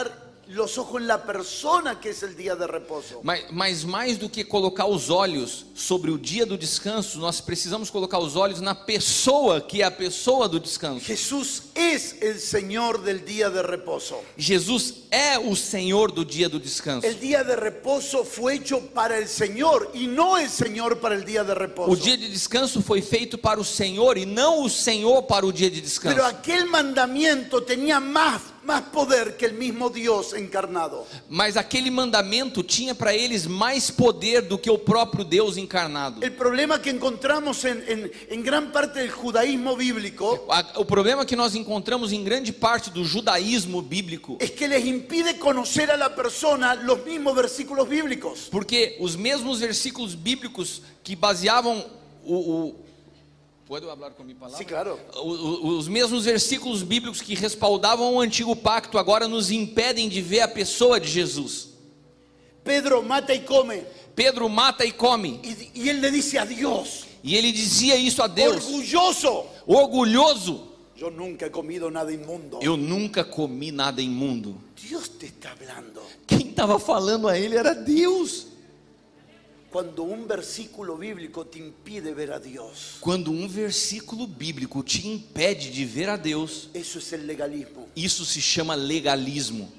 los ojos en la persona que es el día de reposo. Mas, mas mais do que colocar os olhos sobre o dia do descanso, nós precisamos colocar os olhos na pessoa, que é a pessoa do descanso. Jesús es el Señor del día de reposo. Jesus é o Senhor do dia do descanso. El día de reposo fue hecho para el Señor y no el Señor para el día de reposo. O dia de descanso foi feito para o Senhor e não o Senhor para o dia de descanso. Pero aquel mandamiento tenía más, más poder que el mismo Dios encarnado. Mas aquele mandamento tinha para eles mais poder do que o próprio Deus encarnado. El problema que encontramos en, en, en gran parte del judaísmo bíblico A- O problema que nós encontramos em grande parte do judaísmo bíblico, es que les impide conocer a la persona los mismos versículos bíblicos. porque os mesmos versículos bíblicos que baseavam o, o Pode falar com a minha palavra? Sí, claro. O- o- Os mesmos versículos bíblicos que respaldavam o antigo pacto agora nos impedem de ver a pessoa de Jesus. Pedro mata y come. Pedro mata e come, Y, y él le dice a Dios, e ele dizia isso a Deus, orgulloso, orgulhoso: yo nunca he comido nada inmundo. eu nunca comi nada imundo. Dios te está hablando. Quem estava falando a ele era Deus. Cuando un versículo bíblico te impide ver a Dios, Quando um versículo bíblico te impede de ver a Deus, eso es el legalismo. isso se chama legalismo.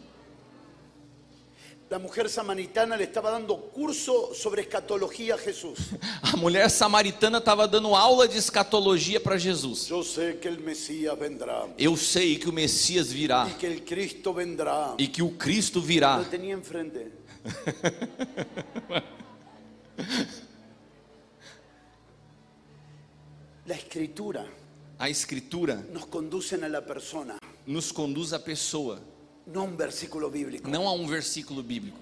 La mujer samaritana le estaba dando curso sobre escatología a Jesús. A mulher samaritana estava dando aula de escatologia para Jesus. Yo sé que el Mesías vendrá Eu sei que o Messias virá y que el Cristo vendrá. e que o Cristo virá. Lo tenía enfrente. La escritura A escritura nos conducen a la persona, nos conduz à pessoa, no a un versículo bíblico. não a um versículo bíblico.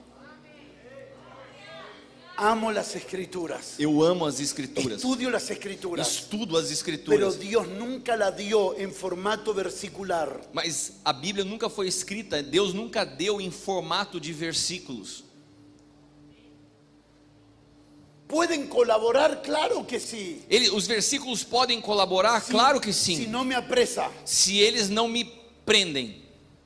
Amo las escrituras. Eu amo as escrituras, Estudio las escrituras. estudo as Pero escrituras, Dios nunca la dio en formato versicular. mas a Bíblia nunca foi escrita, Deus nunca deu em formato de versículos. ¿Pueden colaborar? Claro que sí. Ele, os versículos podem colaborar? Claro que Si sim, no me apresa. se eles não me prendem.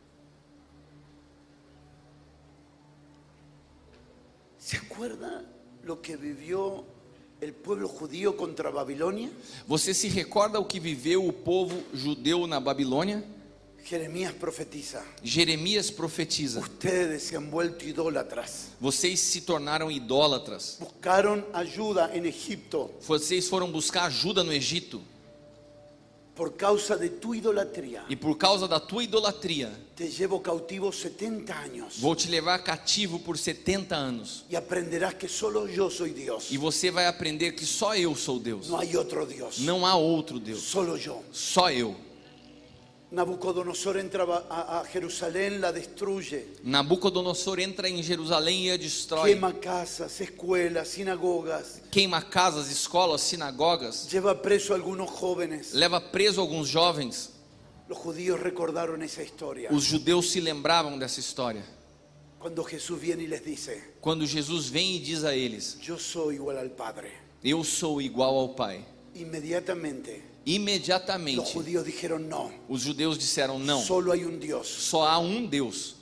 ¿Se acuerda lo que vivió el pueblo judío contra Babilonia? Você se recorda o que viveu o povo judeu na Babilônia? Jeremías profetiza. Jeremias profetiza: Ustedes se han vuelto idólatras. vocês se tornaram idólatras, Buscaron ayuda en Egipto vocês foram buscar ajuda no Egito, por causa de tu idolatría. e por causa da tua idolatria, Te llevo cautivo setenta años vou te levar cativo por setenta anos, y aprenderás que solo yo soy Dios. e você vai aprender que só eu sou Deus, No hay otro Dios. não há outro Deus, Solo yo. só eu. Nabucodonosor entra a, a Jerusalén, la destruye. Nabucodonosor entra em Jerusalém e a destrói, Quema casas, escuelas, sinagogas. queima casas, escolas, sinagogas, Lleva preso a algunos jóvenes. leva preso alguns jovens. Los judíos recordaron esa historia. Os judeus se lembravam dessa história. Cuando Jesús viene y les dice, Quando Jesus vem e diz a eles: yo soy igual al Padre. eu sou igual ao Pai, Inmediatamente los imediatamente judíos dijeron no. os judeus disseram: não, Solo hay un Dios. só há um Deus.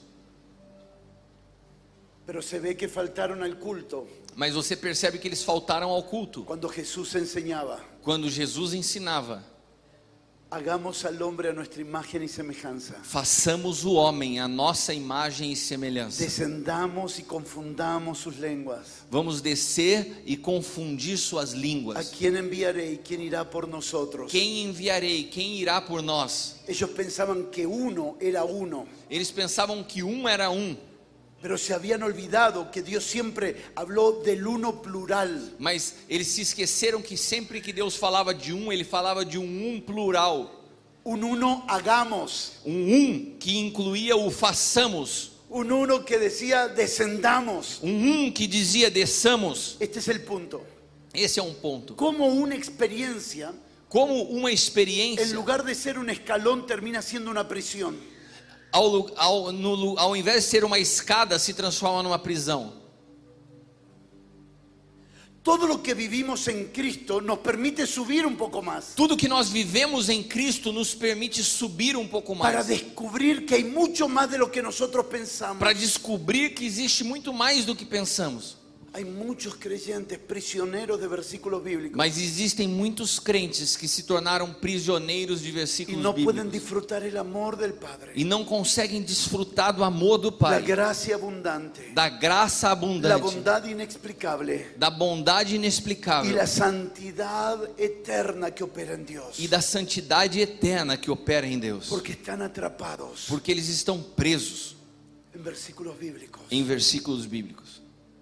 Pero se ve que faltaron al culto Mas você percebe que eles faltaram ao culto. cuando Jesús enseñaba. Quando Jesus ensinava: Hagamos al hombre a nuestra imagen y semejanza. façamos o homem a nossa imagem e semelhança. Descendamos y confundamos sus lenguas. Vamos descer e confundir suas ¿A línguas. quién enviaré y quién irá por nosotros? Quem enviarei? Quem irá por nós? Ellos pensaban que uno era uno, Eles pensavam que um era um, pero se habían olvidado que Dios siempre habló del uno plural. mas eles se esqueceram que sempre que Deus falava de um, Ele falava de um um plural. Un uno hagamos, Um um que incluía o façamos. un uno que decía descendamos. Um um que dizia desçamos. Este es el punto. Esse é um ponto. Como una experiencia, Como uma en experiência, lugar de ser un escalón, termina siendo una prisión. ao, lu- ao, no lu- ao invés de ser uma escada, se transforma numa prisão. Todo lo que vivimos en Cristo nos permite subir un poco más. Tudo que nós vivemos em Cristo nos permite subir um pouco Para mais. descubrir que hay mucho más de lo que nosotros pensamos. Para descobrir que existe muito mais do que pensamos. Hay muchos creyentes prisioneros de versículos bíblicos. Mas existem muitos crentes que se tornaram prisioneiros de Y versículos no pueden bíblicos. disfrutar el amor del Padre. E não conseguem desfrutar do amor do La Pai. gracia abundante. Da graça La abundante. bondad inexplicable. Da bondade Y inexplicável. la santidad eterna que opera en Dios. E da santidade eterna que opera em Deus. Porque están atrapados Porque eles estão presos en versículos bíblicos. em versículos bíblicos.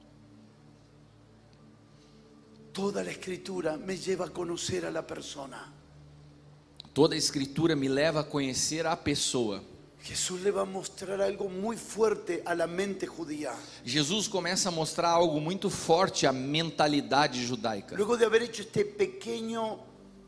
Toda la escritura me lleva a conocer a la persona. Toda a escritura me leva a conhecer a pessoa. Jesús le va a mostrar algo muy fuerte a la mente judía. Jesus começa a mostrar algo muito forte à mentalidade judaica. Luego de haber hecho este pequeño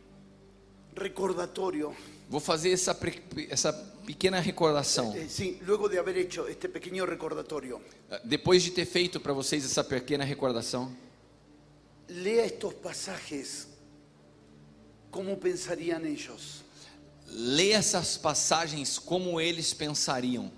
recordatorio, Vou fazer essa, pre- essa pequena recordação. eh, sí, luego de haber hecho este pequeño recordatorio, Depois de ter feito para vocês essa pequena recordação, lea estos pasajes, ¿cómo pensarían ellos? leia essas passagens como eles pensariam.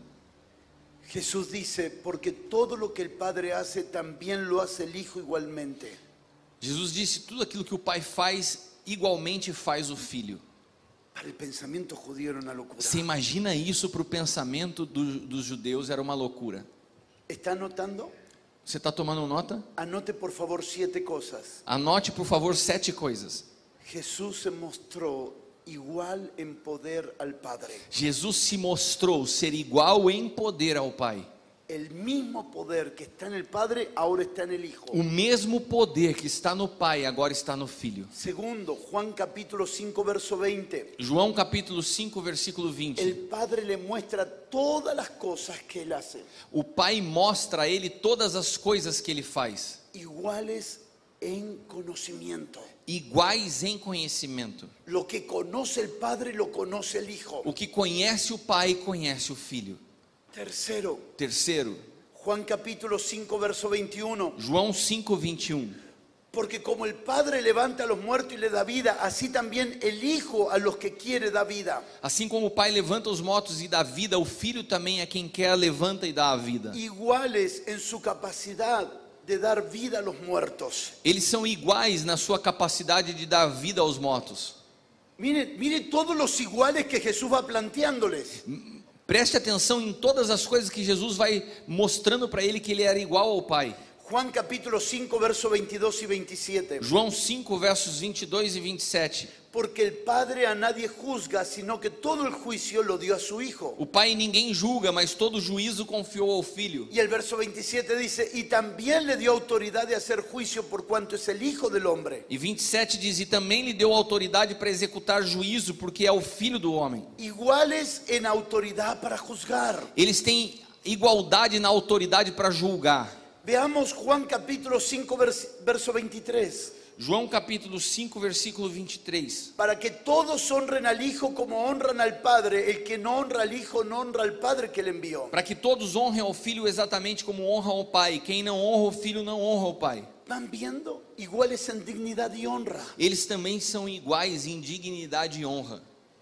Jesús dice, porque todo lo que el Padre hace, también lo hace el Hijo igualmente. Jesus disse: tudo aquilo que o Pai faz, igualmente faz o Filho. Para el pensamiento judío era una locura. Você imagina isso para o pensamento do- dos judeus? Era uma loucura. ¿Está anotando? Você está tomando nota? Anote por favor siete cosas. Anote, por favor, sete coisas. Jesús se mostró igual en poder al Padre. Jesus se mostrou ser igual em poder ao Pai. El mismo poder que está en el Padre, ahora está en el Hijo. O mesmo poder que está no Pai, agora está no Filho. Segundo, Juan capítulo cinco, verso veinte. João capítulo cinco, versículo El vinte. Padre le muestra todas las cosas que Él hace, O Pai mostra a ele todas as coisas que ele faz, iguales en conocimiento. iguais em conhecimento. Lo que conoce el Padre, lo conoce el Hijo. O que conhece o Pai, conhece o Filho. Tercero, Terceiro, Juan capítulo cinco, verso veintiuno. João cinco, vinte e um. Porque como el Padre levanta a los muertos y le da vida, así también el Hijo a los que quiere da vida. Assim como o Pai levanta os mortos e dá vida, o Filho também é quem quer, levanta e dá a vida. Iguales en su capacidad de dar vida a los muertos. Eles são iguais na sua capacidade de dar vida aos mortos. Mire, mire todos los iguales que Jesús va planteándoles. Preste atenção em todas as coisas que Jesus vai mostrando para ele que ele era igual ao Pai. Juan capítulo cinco, verso veintidós y veintisiete. João cinco, versos vinte e dois e vinte e sete. Porque el Padre a nadie juzga, sino que todo el juicio lo dio a su Hijo. O Pai ninguém julga, mas todo juízo confiou ao Filho. Y el verso veintisiete dice, y también le dio autoridad de hacer juicio por cuanto es el Hijo del Hombre. E vinte e sete diz: e também lhe deu autoridade para executar juízo, porque é o Filho do homem. Iguales en autoridad para juzgar. Eles têm igualdade na autoridade para julgar. Veamos Juan capítulo cinco, vers- verso veintitrés. João capítulo cinco, versículo vinte e três. Para que todos honren al Hijo como honran al Padre. El que no honra al Hijo no honra al Padre que le envió. Para que todos honrem ao Filho exatamente como honram ao Pai. Quem não honra o Filho não honra o Pai. ¿Van viendo? Iguales en dignidad y honra. Eles também são iguais em dignidade e honra.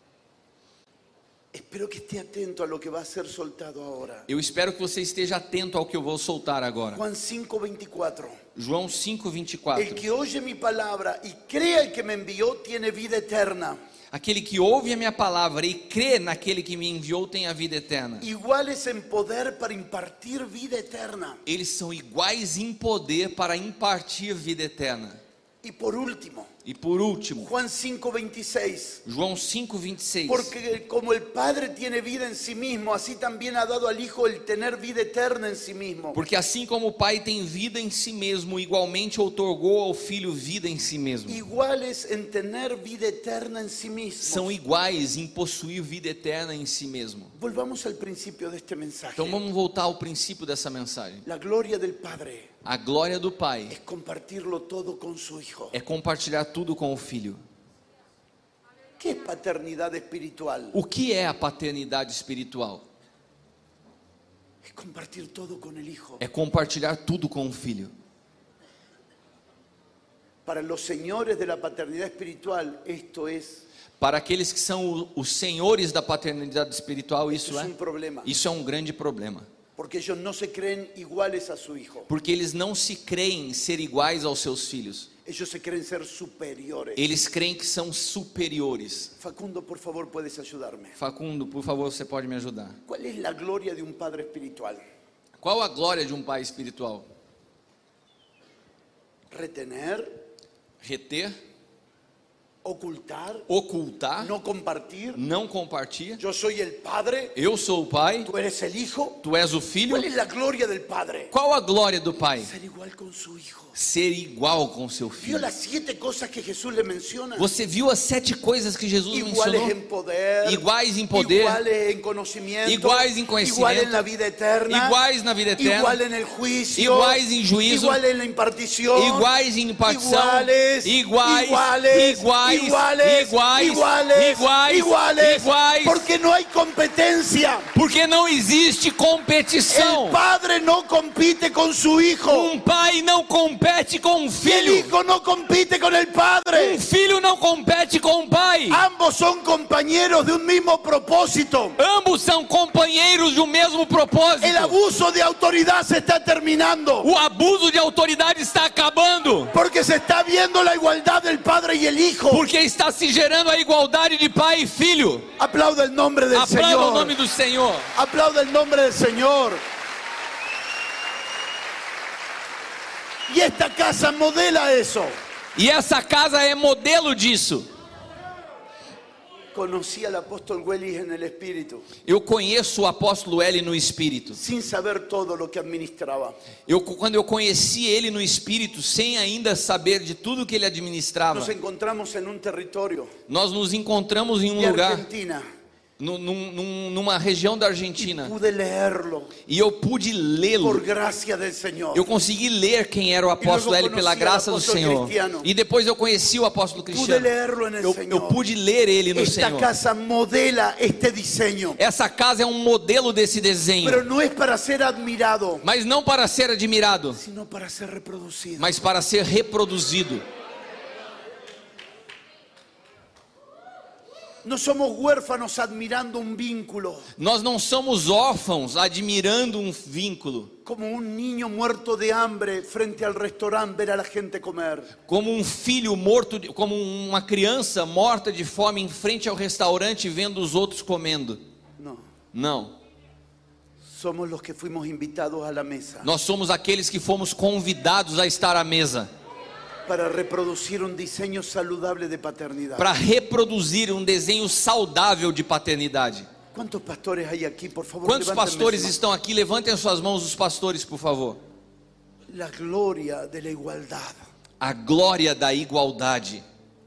Espero que esté atento a lo que va a ser soltado ahora. Eu espero que você esteja atento ao que eu vou soltar agora. Juan cinco, veinticuatro. João cinco, vinte e El quatro. que oye mi palabra y crea el que me envió tiene vida eterna. Aquele que ouve a minha palavra e crê naquele que me enviou tem a vida eterna. Iguales en poder para impartir vida eterna. Eles são iguais em poder para impartir vida eterna. Y por último, E por último, Juan cinco, veintiséis. João cinco, vinte e seis. Porque como el Padre tiene vida en sí mismo, así también ha dado al Hijo el tener vida eterna en sí mismo. Porque assim como o Pai tem vida em si mesmo, igualmente outorgou ao Filho vida em si mesmo. Iguales en tener vida eterna en sí mismo. São iguais em possuir vida eterna em si mesmo. Volvamos al principio de este mensaje. Então vamos voltar ao princípio dessa mensagem. La gloria del Padre A glória do Pai es compartirlo todo con su Hijo. é compartilhar tudo com o Filho. ¿Qué es paternidad espiritual? O que é a paternidade espiritual? Es compartir todo con el Hijo. É compartilhar tudo com o Filho. Para los señores de la paternidad espiritual, esto es, Para aqueles que são o- os senhores da paternidade espiritual, esto isso es é, un problema. isso é um grande problema. Porque ellos no se creen iguales a su hijo. Porque eles não se creem ser iguais aos seus filhos. Ellos se creen ser superiores. Eles creem que são superiores. Facundo, por favor, puedes ayudarme. Facundo, por favor, você pode me ajudar. ¿Cuál es la gloria de un padre espiritual? Qual a glória de um pai espiritual? Retener, Reter, ocultar, ocultar, no compartir. não compartilha. Yo soy el padre, Eu sou o pai, tú eres el hijo. tu és o filho. ¿Cuál es la gloria del padre? Qual a glória do pai? Ser igual con su hijo. Ser igual com seu ¿Vio filho. las siete cosas que Jesús le menciona? Você viu as sete coisas que Jesus Iguales mencionou? en poder, Iguais em poder, iguales en conocimiento, iguais em conhecimento, igual en la vida eterna, iguais na vida eterna, igual en el juicio, iguais em juízo, igual en la impartición, iguais em impartição, iguales, iguais, iguales, iguais, iguales, iguais, iguales, iguais, iguales, iguais. porque no hay competencia. Porque não existe competição. El padre no compite con su hijo. Um pai não compete com um Y el filho. hijo no compite con el padre. Um filho não compete com um pai. Ambos son compañeros de un mismo propósito. Ambos são companheiros de um mesmo propósito. El abuso de autoridad se está terminando. O abuso de autoridade está acabando. Porque se está viendo la igualdad del padre y el hijo. Porque está se gerando a igualdade de pai e filho. Aplauda el nombre del Aplauda o Señor. nome do Senhor. Aplauda el nombre del Señor. Y esta casa modela eso. E essa casa é modelo disso. Conocí al apóstol Wellis en el espíritu, Eu conheço o apóstolo L no Espírito. sin saber todo lo que administraba. Eu, quando eu conheci ele no Espírito, sem ainda saber de tudo que ele administrava, Nos encontramos en un territorio nós nos encontramos em um de lugar, Argentina num, num, numa região da Argentina, pude leerlo e eu pude lê-lo. por gracia del Señor. Eu consegui ler quem era o apóstolo L pela graça do Senhor. E depois eu conheci o apóstolo Pude Cristiano. leerlo en el Eu, Señor. eu pude ler ele no Esta Senhor. casa modela este diseño, Essa casa é um modelo desse pero desenho, no es para ser admirado, mas não para ser admirado, sino para ser reproducido. mas para ser reproduzido. No somos huérfanos admirando un vínculo, Nós não somos órfãos admirando um vínculo, como un niño muerto de hambre frente al restaurante ver a la gente comer. como um filho morto, de- como uma criança morta de fome em frente ao restaurante vendo os outros comendo. No, Não. somos los que fuimos invitados a la mesa Nós somos aqueles que fomos convidados a estar à mesa para reproducir un diseño saludable de paternidad. para reproduzir um desenho saudável de paternidade. ¿Cuántos pastores hay aquí? Por favor, Quantos levántenme pastores su mano. estão aqui? Levantem suas mãos, os pastores, por favor. La gloria de la igualdad. A glória da igualdade.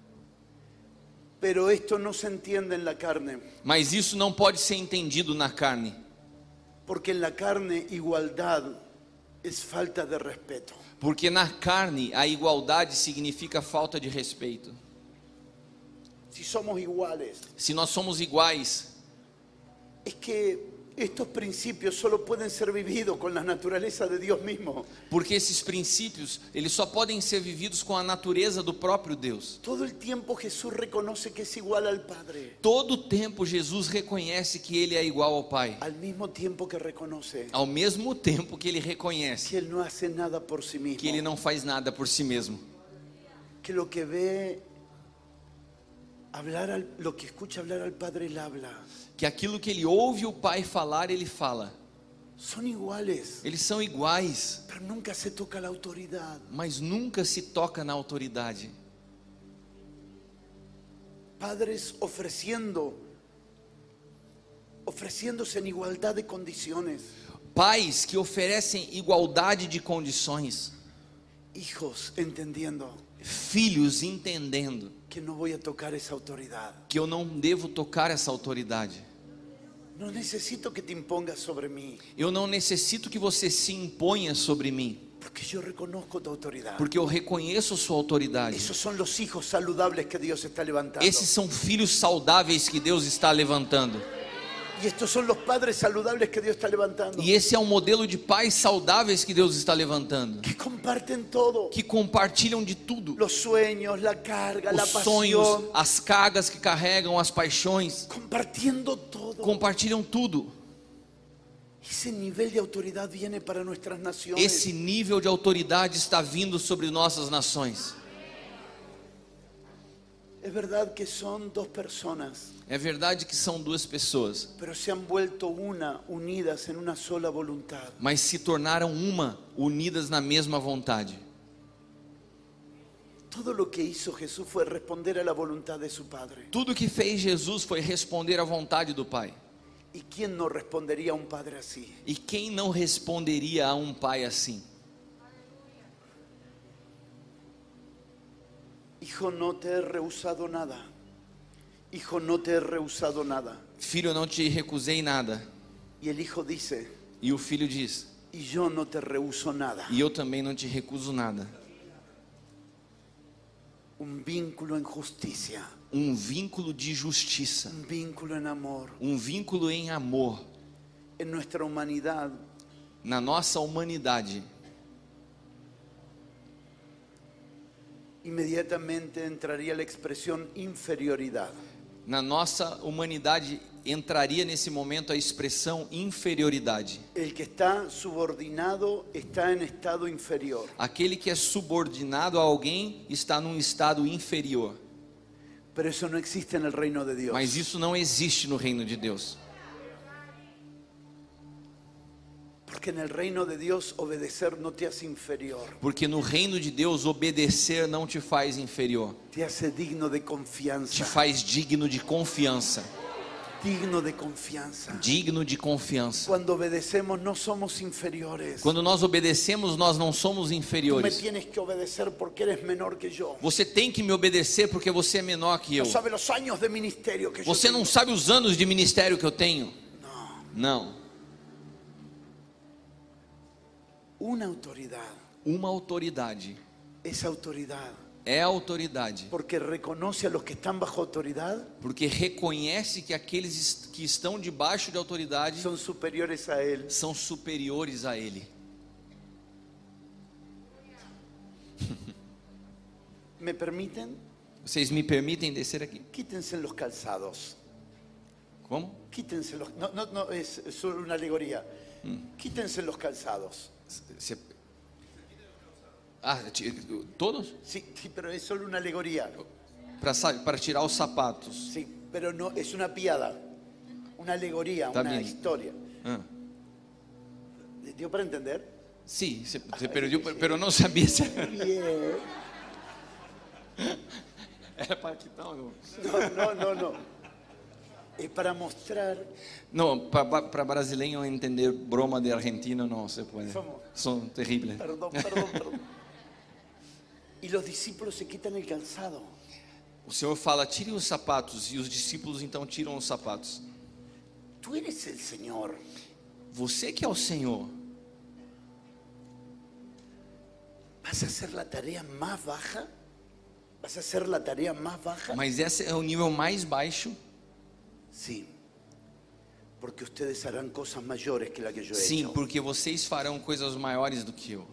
Pero esto no se entiende en la carne, Mas isso não pode ser entendido na carne. porque en la carne igualdad es falta de respeto. Porque na carne a igualdade significa falta de respeito. Si somos iguales, Se nós somos iguais, es que estos principios solo pueden ser vividos con la naturaleza de Dios mismo. porque esses princípios, eles só podem ser vividos com a natureza do próprio Deus. Todo el tiempo Jesús reconoce que es igual al Padre, Todo tempo Jesus reconhece que ele é igual ao Pai. al mismo tiempo que reconoce Ao mesmo tempo que ele reconhece que Él no hace nada por sí mismo, que ele não faz nada por si mesmo. que lo que ve hablar al, lo que escucha hablar al Padre, Él habla. Que aquilo que ele ouve o Pai falar, ele fala. Son iguales, Eles são iguais, pero nunca se toca la autoridad. mas nunca se toca na autoridade. Padres ofreciendo, ofreciéndose en igualdad de condiciones. Pais que oferecem igualdade de condições. Hijos entendiendo Filhos entendendo que no voy a tocar esa autoridad. que eu não devo tocar essa autoridade. No necesito que te impongas sobre mí, Eu não necessito que você se imponha sobre mim, porque yo reconozco tu autoridad. porque eu reconheço sua autoridade. Esos son los hijos saludables que Dios está levantando. Esses são filhos saudáveis que Deus está levantando. Y Y estos son los padres saludables que Dios está levantando. E esse é um modelo de pais saudáveis que Deus está levantando, Que comparten todo. que compartilham de tudo. Los sueños, la carga, la Os sonhos, pasión. as cargas que carregam, as paixões, Compartiendo todo. compartilham tudo. Ese nivel de autoridad viene para nuestras naciones. Esse nível de autoridade está vindo sobre nossas nações. Es verdad que son dos personas, É verdade que são duas pessoas, pero se han vuelto una, unidas en una sola voluntad. mas se tornaram uma, unidas na mesma vontade. Todo lo que hizo Jesús fue responder a la voluntad de su Padre. Tudo que fez Jesus foi responder à vontade do Pai. ¿Y quién no respondería a un padre así? E quem não responderia a um pai assim? Hijo, no te he rehusado nada. Hijo, no te he rehusado nada. Filho, eu não te recusei nada. Y el hijo dice, E o filho diz: y yo no te rehuso nada. e eu também não te recuso nada. Un vínculo en justicia, Um vínculo de justiça, un vínculo en amor. um vínculo em amor. En nuestra humanidad, Na nossa humanidade, inmediatamente entraría la expresión inferioridad. na nossa humanidade entraria nesse momento a expressão inferioridade. El que está subordinado está en estado inferior. Aquele que é subordinado a alguém está num estado inferior. Pero eso no existe en el reino de Dios. Mas isso não existe no reino de Deus. Porque en el reino de Dios obedecer no te hace inferior, Porque no reino de Deus obedecer não te faz inferior, te hace digno de te confianza. faz digno de confiança. Digno de confianza. Digno de confiança. Cuando obedecemos no somos inferiores. Quando nós obedecemos, nós não somos Tú me inferiores. tienes que obedecer porque eres menor que yo. Você tem que me obedecer porque você é menor que eu. No sabe los años de ministerio que Você yo não tengo. sabe os anos de ministério que eu tenho. No, Não. una autoridad. Uma autoridade. Esa autoridad, É a autoridade. porque reconoce a los que están bajo autoridad, Porque reconhece que aqueles est- que estão debaixo de autoridade son superiores a él. são superiores a ele. ¿Me permiten? Vocês me permitem descer aqui? Quítense los calzados. Como? Quítense los... No, no, no, es es solo una alegoría. Quítense los calzados. Você- Ah, ti- todos? Sí, sí, pero es solo una alegoría. Para tirar os sapatos. Sí, pero no es una piada, una alegoría, Está una bien. historia. Ah. ¿Dio para entender? Sim, você, você perdeu, pero não sabia se Bien. era para quitar ou não. No, no, no, no. Es para mostrar. Não, para brasileiro entender broma de argentino não se pode. Somos- São terríveis. Perdón, perdón, perdón. Y los discípulos se quitan el calzado. O Senhor fala: tirem os sapatos, e os discípulos então tiram os sapatos. Tú eres el Señor. Você que é o Senhor, ¿Vas a hacer la tarea más baja? ¿Vas a hacer la tarea más baja? mas esse é o nível mais baixo. Sí. Porque ustedes harán cosas mayores que la que yo he Sim, hecho. porque vocês farão coisas maiores do que eu.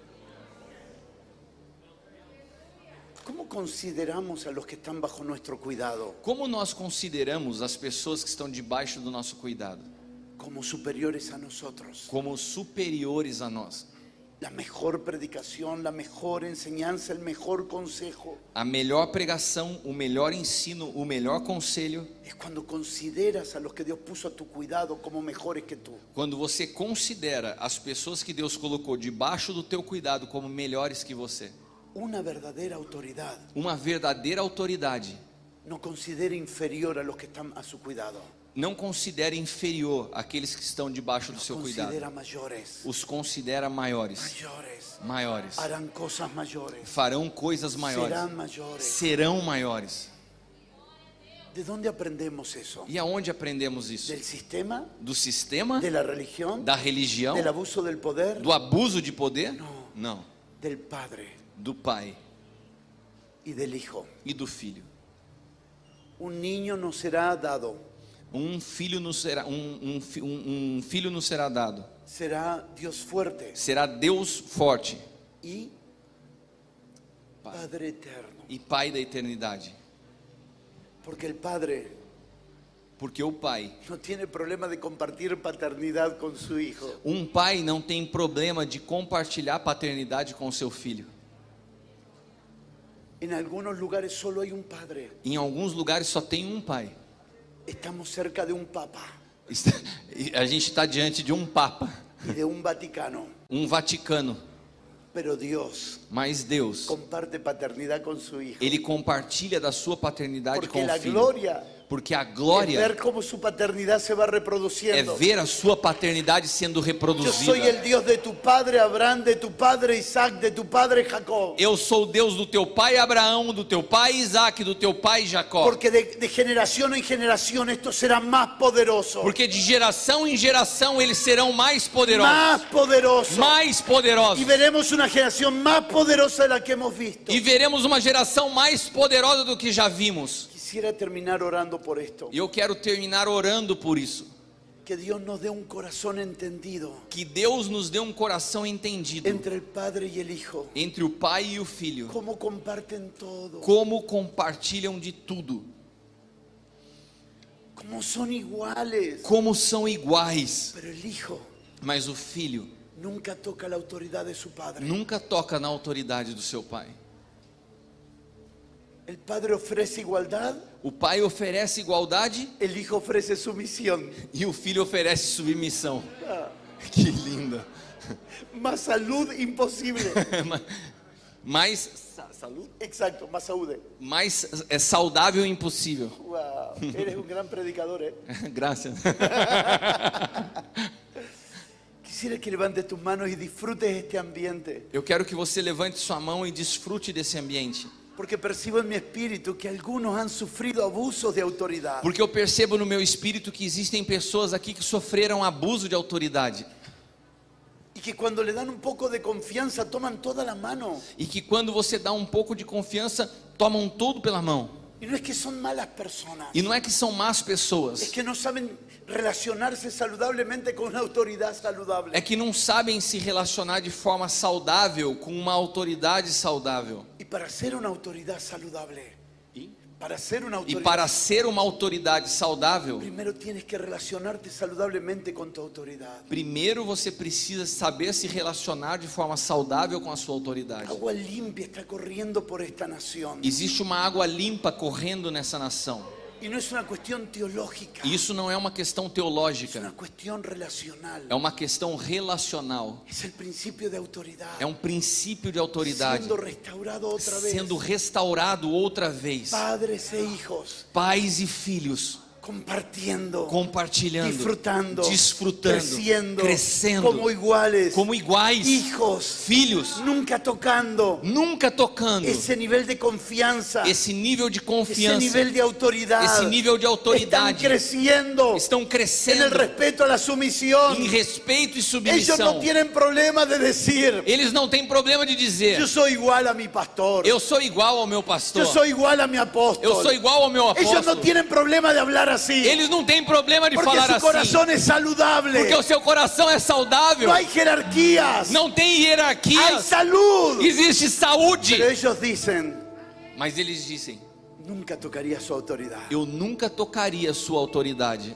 ¿Cómo consideramos a los que están bajo nuestro cuidado? Como nós consideramos as pessoas que estão debaixo do nosso cuidado Como superiores a nosotros. como superiores a nós? La mejor predicación, la mejor enseñanza, el mejor consejo A melhor pregação, o melhor ensino, o melhor conselho, es cuando consideras a los que Dios puso a tu cuidado como mejores que tú. quando você considera as pessoas que Deus colocou debaixo do teu cuidado como melhores que você. Una verdadera autoridad Uma verdadeira autoridade no considera inferior a los que están a su cuidado. não considera inferior aqueles que estão debaixo do seu cuidado. Considera mayores. Os considera maiores. Mayores. Maiores. Harán cosas mayores. Farão coisas maiores. Serán mayores. Serão maiores. ¿De dónde aprendemos eso? E aonde aprendemos isso? ¿Del sistema? Do sistema? ¿De la religión? Da religião? ¿Del abuso del poder? Do abuso de poder? Não. Não. Del Padre Do pai y del Hijo. e do filho. Un niño nos será dado. Um filho nos será, um, um, fi- um, um filho nos será dado. Será Dios fuerte Será Deus forte y Padre eterno. e Pai da eternidade. Porque el Padre Porque o pai, no tiene problema de compartir paternidad con su hijo. um pai não tem problema de compartilhar paternidade com seu filho. En algunos lugares solo hay un padre. Em alguns lugares só tem um pai. Estamos cerca de un papa Está- A gente está diante de um papa, y de un Vaticano. um Vaticano, Pero Dios mas Deus, comparte paternidad con su hijo. Ele compartilha da sua paternidade Porque com o la filho. gloria Porque a es glória ver cómo su paternidad se va é reproduciendo. ver a sua paternidade sendo Yo soy reproduzida. el Dios de tu padre Abraham, de tu padre Isaac, de tu padre Jacob. Eu sou o Deus do teu pai Abraão, do teu pai Isaac, do teu pai Jacó. Porque de, de generación en generación esto será más poderoso. Porque de geração em geração eles serão mais poderosos. Más poderoso. Mais Y poderosos. veremos una generación más poderosa de la que hemos visto. E veremos uma geração mais poderosa do que já vimos. Quisiera terminar orando por esto. E eu quero terminar orando por isso. Que Dios nos dé un corazón entendido Que Deus nos dê um coração entendido entre el Padre y el Hijo. entre o pai e o filho. Cómo comparten todo. Como compartilham de tudo. Cómo son iguales. Como são iguais. Pero el Hijo Mas o filho nunca toca la autoridad de su Padre. nunca toca na autoridade do seu pai. El Padre ofrece igualdad, O pai oferece igualdade el Hijo ofrece sumisión. e o filho oferece submissão. Que linda. Más salud imposible. Mais saúde? Exacto, más salud. Mais é saudável e impossível. Wow, eres un gran predicador, ¿eh? Graças. Quisiera que levantes tus manos y disfrutes este ambiente. Eu quero que você levante sua mão e desfrute desse ambiente. Porque percibo en mi espíritu que algunos han sufrido abusos de autoridad. Porque eu percebo no meu espírito que existem pessoas aqui que sofreram abuso de autoridade. Y que cuando le dan un poco de confianza toman toda la mano. E que quando você dá um pouco de confiança, tomam tudo pela mão. Y no es que son malas personas. E não é que são más Es pessoas. que no saben relacionarse saludablemente con una autoridad saludable. É que não sabem se relacionar de forma saudável com uma autoridade saudável. Y para ser una autoridad saludable, para ser una E autoridad, para ser uma autoridade saudável, primero tienes que relacionarte saludablemente con tu autoridad. primeiro você precisa saber se relacionar de forma saudável com a sua autoridade. Agua limpia está corriendo por esta nación. Existe uma água limpa correndo nessa nação. Y no es una cuestión teológica, E isso não é uma questão es una teológica, cuestión relacional. é uma questão relacional. Es el principio de autoridad. É um princípio de autoridade Siendo restaurado otra vez. sendo restaurado outra vez. Padres e hijos Pais e filhos compartiendo, compartilhando, disfrutando, desfrutando, creciendo, crescendo como iguales, como iguais, hijos, filhos, nunca tocando nunca tocando esse nível de confiança, esse nível de esse confiança, nível de autoridade, esse nível de estão autoridade. crescendo Estão en el crescendo respeto a la sumisión. em respeito e Ellos submissão. no tienen problema de decir, Eles não têm problema de dizer: yo soy igual a mi pastor, eu sou igual ao meu pastor, yo soy igual a mi apóstol. eu sou igual ao meu Ellos no apóstolo. tienen problema de hablar así, Eles não têm problema de porque falar su assim, corazón es saludable. porque o seu coração é saudável. No hay jerarquías, Não tem hay hierarquias, salud. existe saúde. Pero ellos dicen, Mas eles dizem: nunca tocaría su autoridad. eu nunca tocaria sua autoridade.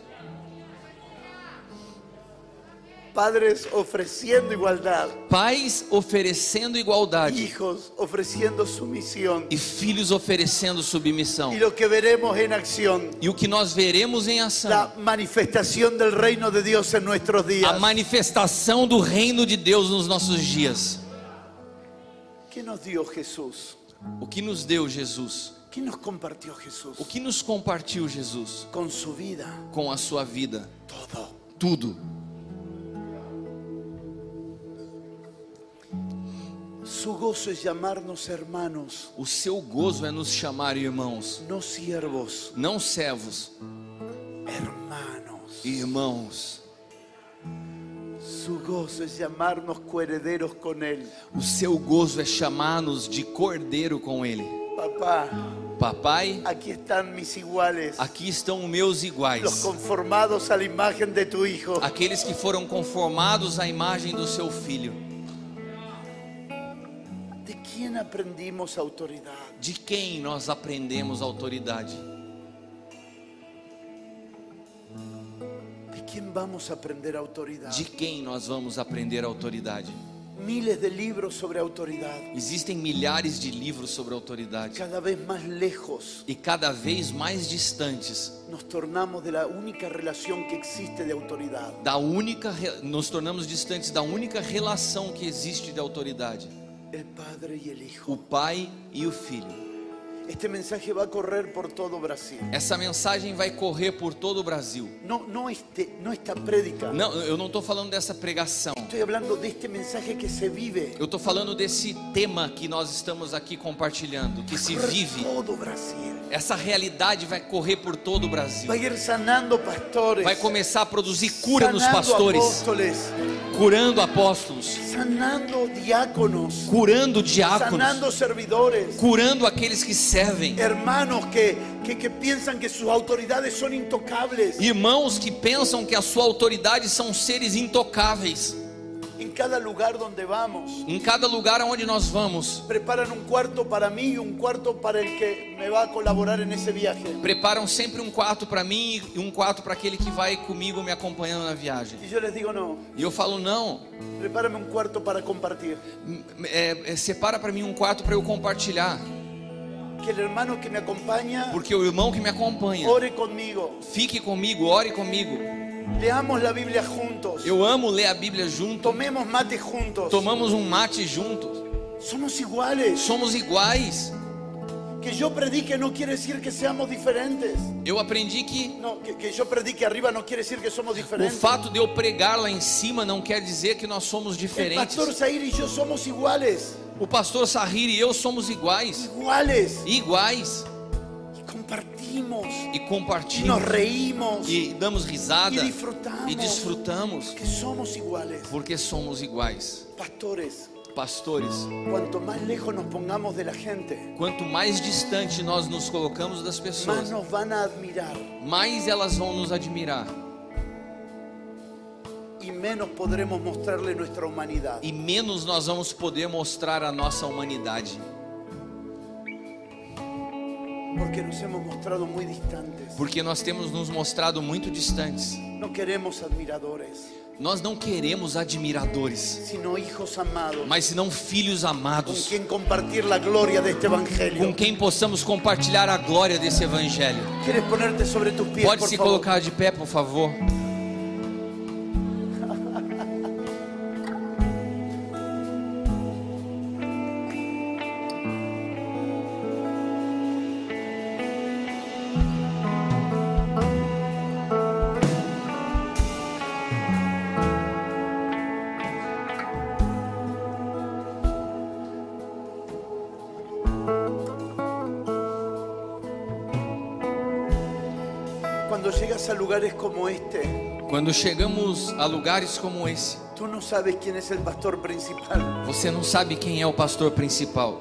Padres ofreciendo igualdad, Pais oferecendo igualdade hijos ofreciendo sumisión. e filhos oferecendo submissão. Y lo que veremos en acción, E o que nós veremos em ação, la manifestación del reino de Dios en nuestros a días. manifestação do reino de Deus nos nossos dias. ¿Qué nos dio Jesús? O que nos deu Jesus? ¿Qué nos compartió Jesús? O que nos compartiu Jesus? Con su vida, Com a sua vida. todo. Tudo. Su gozo es llamarnos hermanos, O seu gozo é nos chamar irmãos, no siervos, não servos, hermanos. irmãos. Su gozo es llamarnos coherederos con Él. O seu gozo é chamar-nos de cordeiro com Ele. Papá, Papai, aquí están mis iguales, aqui estão os meus los iguais, conformados a la imagen de tu Hijo. aqueles que foram conformados à imagem do seu Filho. ¿De quién aprendimos autoridad? De quem nós aprendemos autoridade? ¿De quién vamos a aprender autoridad? De quem nós vamos aprender autoridade? Miles de libros sobre autoridad, Existem milhares de livros sobre autoridade cada vez más lejos e cada vez mais distantes nos tornamos de la única relación que existe de autoridad. da única, re- nos tornamos distantes da única relação que existe de autoridade: El Padre y el Hijo. o Pai e o Filho. Este mensaje va a correr por todo Brasil. Essa mensagem vai correr por todo o Brasil. No, no, este, no esta prédica. Não, eu não estou falando dessa pregação. Estoy hablando de este mensaje que se vive. Eu estou falando desse tema que nós estamos aqui compartilhando, que se Corre vive. todo Brasil. Essa realidade vai correr por todo o Brasil. Va a ir sanando pastores. Vai começar a produzir cura nos sanando pastores, apóstoles, curando apóstolos, sanando diáconos, curando diáconos, sanando servidores. curando aqueles que servem. Hermanos que, que, que piensan que sus autoridades son intocables. Irmãos que pensam que a sua autoridade são seres intocáveis. En cada lugar donde vamos, Em cada lugar aonde nós vamos, preparan un cuarto para mí y un cuarto para el que me va a colaborar en esse viaje. preparam sempre um quarto para mim e um quarto para aquele que vai comigo me acompanhando na viagem. Y yo les digo, no, E eu falo, não, prepárame un cuarto para compartir. é, é, separa para mim um quarto para eu compartilhar. Que el hermano que me acompaña Porque o irmão que me acompanha, ore conmigo. fique comigo, ore comigo. Leamos la Biblia juntos. Eu amo ler a Bíblia junto. Tomemos mate juntos. Tomamos um mate juntos. Somos iguales. Somos iguais. Que yo predique no quiere decir que seamos diferentes. Eu aprendi que No, que, que yo predique arriba no quiere decir que somos o diferentes. fato de eu pregar lá em cima não quer dizer que nós somos El diferentes. pastor Zair y yo somos iguales. O pastor Sahir e eu somos iguais. Iguales. Iguais. Y compartimos. E Y nos compartilhamos. reímos. E damos risada. Y disfrutamos. E desfrutamos. Que somos iguales. Porque somos iguais. Pastores, Pastores, cuanto más lejos nos pongamos de la gente, quanto mais distante nós nos colocamos das más pessoas, nos van a admirar mais elas vão nos admirar. y menos podremos mostrarle nuestra humanidad. E menos nós vamos poder mostrar a nossa humanidade. Porque nos hemos mostrado muy distantes. Porque nós temos nos mostrado muito distantes. No queremos admiradores, Nós não queremos admiradores, sino hijos amados, mas senão filhos con amados, quien compartir la gloria de este evangelio. com quem possamos compartilhar a glória desse evangelho. ¿Quieres ponerte sobre tus pies, Pode por se favor? colocar de pé, por favor. Cuando llegas a lugares como este, Quando chegamos a lugares como esse, tú no sabes quién es el pastor principal, você não sabe quem é o pastor principal.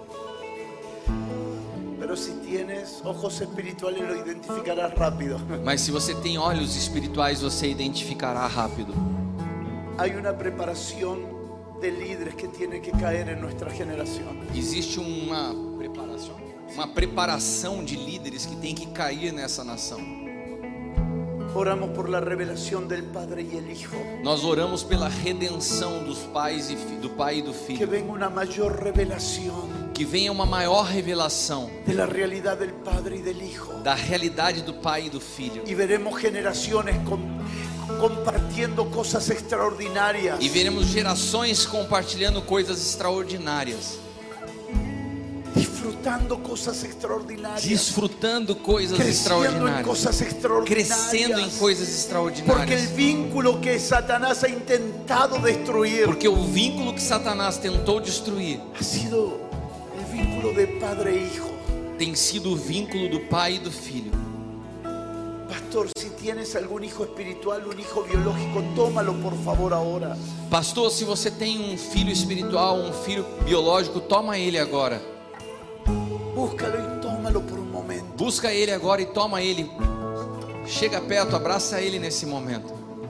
pero si tienes ojos espirituales lo identificarás rápido. Mas se você tem olhos espirituais, você identificará rápido. Hay una preparación de líderes que tiene que caer en nuestra generación. Existe uma preparação, uma preparação de líderes que tem que cair nessa nação. Oramos por la revelación del Padre y el Hijo. Nós oramos pela redenção dos pais e fi- do pai e do Que filho. venga una mayor revelación Que venha uma maior revelação de la realidad del Padre y del Hijo. da realidade do pai e do filho. Y veremos generaciones com- compartiendo cosas extraordinarias. E veremos gerações compartilhando coisas extraordinárias, Disfrutando cosas extraordinarias. desfrutando coisas Creciendo en extraordinárias, cosas extraordinarias. crescendo em coisas Porque el extraordinárias. vínculo que Satanás ha intentado destruir Porque o vínculo que Satanás tentou destruir ha sido el vínculo de padre e hijo. tem sido o vínculo do pai e do filho. Pastor, si tienes algún hijo espiritual, un hijo biológico, tómalo por favor ahora. Pastor, se você tem um filho espiritual, um filho biológico, toma ele agora. Búscalo y tómalo. tómalo por un momento. Busca Ele agora e toma Ele. Chega perto, abraça Ele nesse momento.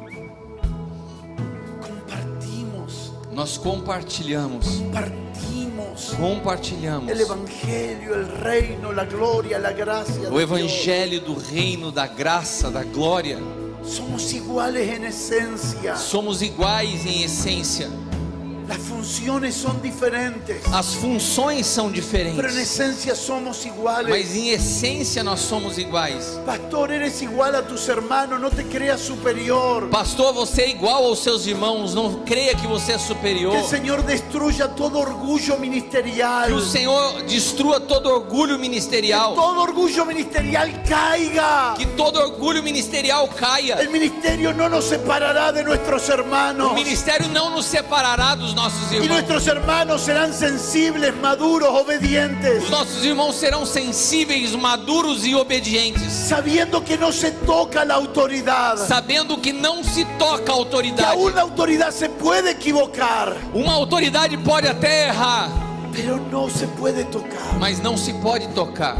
Compartimos, Nós compartilhamos. compartimos Compartilhamos el evangelio, el reino, la gloria, la gracia o de evangelho do reino, da graça, da glória. Dios. Somos iguales en esencia. Somos iguais em essência. Las funciones son diferentes, As funções são pero en diferentes, esencia somos iguales. mas em essência nós somos iguais. Pastor, eres igual a tus hermanos, no te creas superior. Pastor, você é igual aos seus irmãos, não creia que você é superior. Que el Señor destruya todo orgullo ministerial. Que o Senhor destrua todo orgulho ministerial. Todo orgullo ministerial caiga. Que todo orgulho ministerial caia. El ministerio no nos separará de nuestros hermanos. O ministério não nos separará dos nossos Y irmãos. nuestros hermanos serán sensibles, maduros, obedientes. Os nossos irmãos serão sensíveis, maduros e obedientes, Sabiendo que no se toca la autoridad. sabendo que não se toca a Que autoridade. aún la autoridad se puede equivocar, Uma autoridade pode até errar, pero no se puede tocar. mas não se pode tocar.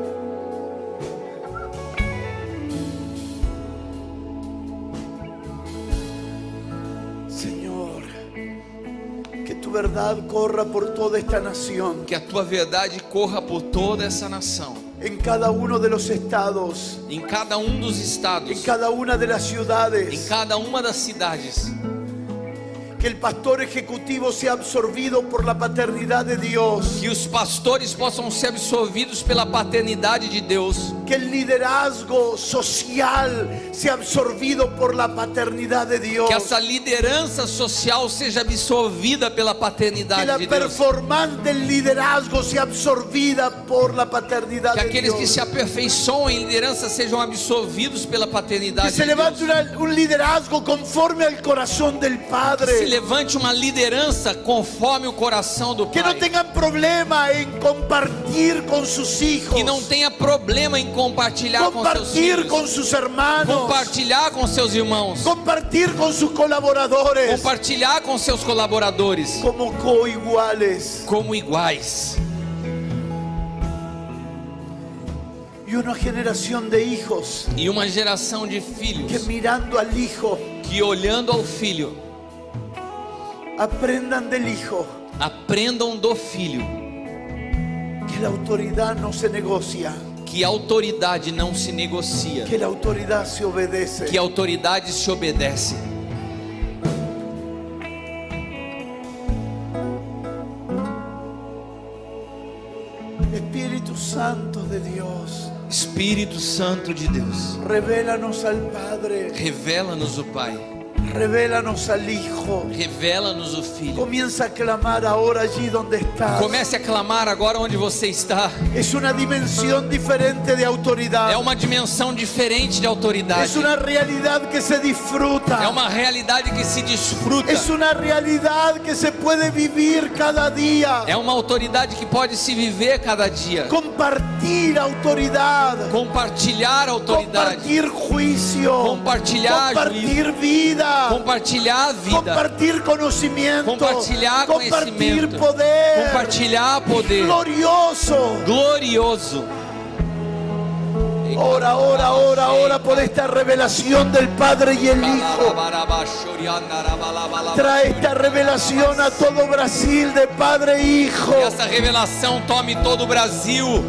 Señor, que tu verdad corra por toda esta nación, Que a tua verdade corra por toda essa nação, en cada uno de los estados, em cada um dos en estados, cada una de las em ciudades. cada uma das cidades. Que el pastor ejecutivo sea absorbido por la paternidad de Dios. Que os pastores possam ser absorvidos pela paternidade de Deus. Que el liderazgo social sea absorbido por la paternidad de Dios. Que essa liderança social seja absorvida pela Que paternidade la de Deus. performance del liderazgo sea absorbida por la paternidad Que de aqueles que Dios. se aperfeiçoam em liderança sejam absorvidos pela Que paternidade se de Deus. levante una- un liderazgo conforme al corazón del Se Padre. levante uma liderança conforme o coração do Que no Pai. tengan problema en compartir con sus hijos. Que não tenha problema em compartilhar com seus Compartir filhos. con sus hermanos. Compartilhar com seus irmãos. Compartir con sus colaboradores. Compartilhar com seus colaboradores. Como coiguales. Como iguais. Y una generación de hijos E uma geração de que filhos mirando al hijo que, olhando ao filho, aprendan del hijo aprendam do filho que la autoridad no se negocia, que a autoridade não se negocia, que la autoridad se obedece. que a autoridade se obedece. Espíritu Santo de Dios, Espírito Santo de Deus, revélanos al Padre, revela-nos o Pai, revélanos al Hijo. revela-nos o Filho. Comienza a clamar ahora allí donde estás. Comece a clamar agora onde você está. Es una dimensión diferente de autoridad. É uma dimensão diferente de autoridade. Es una realidad que se disfruta. É uma realidade que se desfruta. Es una realidad que se puede vivir cada día. É uma autoridade que pode se viver cada dia. Compartir autoridad. Compartilhar a autoridade. Compartir juicio. Compartilhar Compartir vida. Compartilhar a vida. Compartir conocimiento. Compartilhar Compartir conhecimento. poder. Compartilhar poder. Glorioso. Glorioso. Ora, ora, ora, ora por esta revelación del Padre y el Hijo. Trae esta revelación a todo Brasil de Padre e Hijo. Que essa revelação tome todo o Brasil.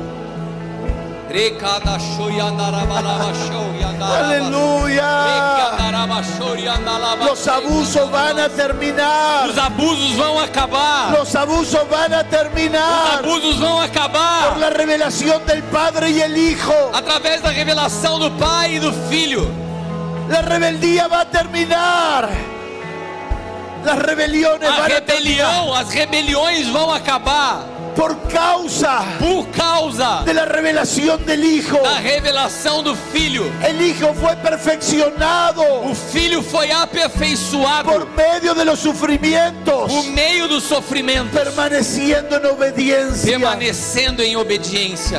Aleluya. Los abusos van a terminar. Os abusos vão acabar. Los abusos van a Os terminar abusos vão por acabar. la revelación del Padre y el Hijo. Através da revelação do Pai e do Filho. La rebeldía va a terminar. Las rebeliones A van a terminar rebelião, as rebeliões vão acabar por causa por causa de la revelación del Hijo. da revelação do Filho. El Hijo fue perfeccionado O Filho foi aperfeiçoado por medio de los sufrimientos, por meio do sofrimento, permaneciendo en obediencia. permanecendo em obediência.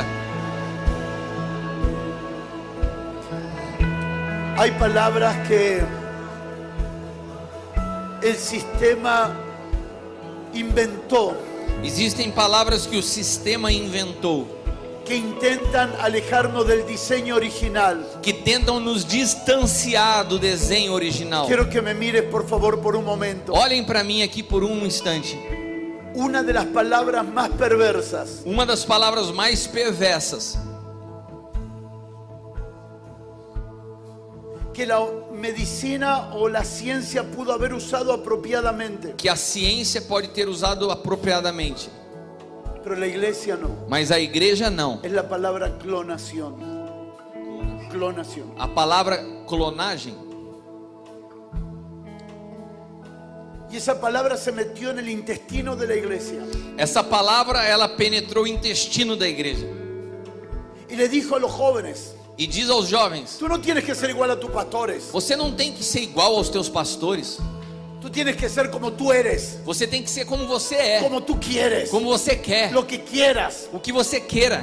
Hay palabras que el sistema inventó Existem palavras que o sistema inventou que intentan alejarnos del diseño original. que tentam nos distanciar do desenho original. Quiero que me mires por favor por un momento. Olhem para mim aqui por um instante. Una de las palabras más perversas Uma das palavras mais perversas que la medicina o la ciencia pudo haber usado apropiadamente, que a ciência pode ter usado apropriadamente, pero la iglesia no. mas a igreja não. Es la palabra clonación. Clonación. A palavra clonagem, Y esa palabra se metió en el intestino de la iglesia. essa palavra ela penetrou o intestino da igreja Y le dijo a los jóvenes, e diz aos jovens: tú no tienes que ser igual a tus pastores. você não tem que ser igual aos teus pastores, Tú tienes que ser como tú eres, você tem que ser como você é, como tú quieres, como você quer, lo que quieras. o que você queira.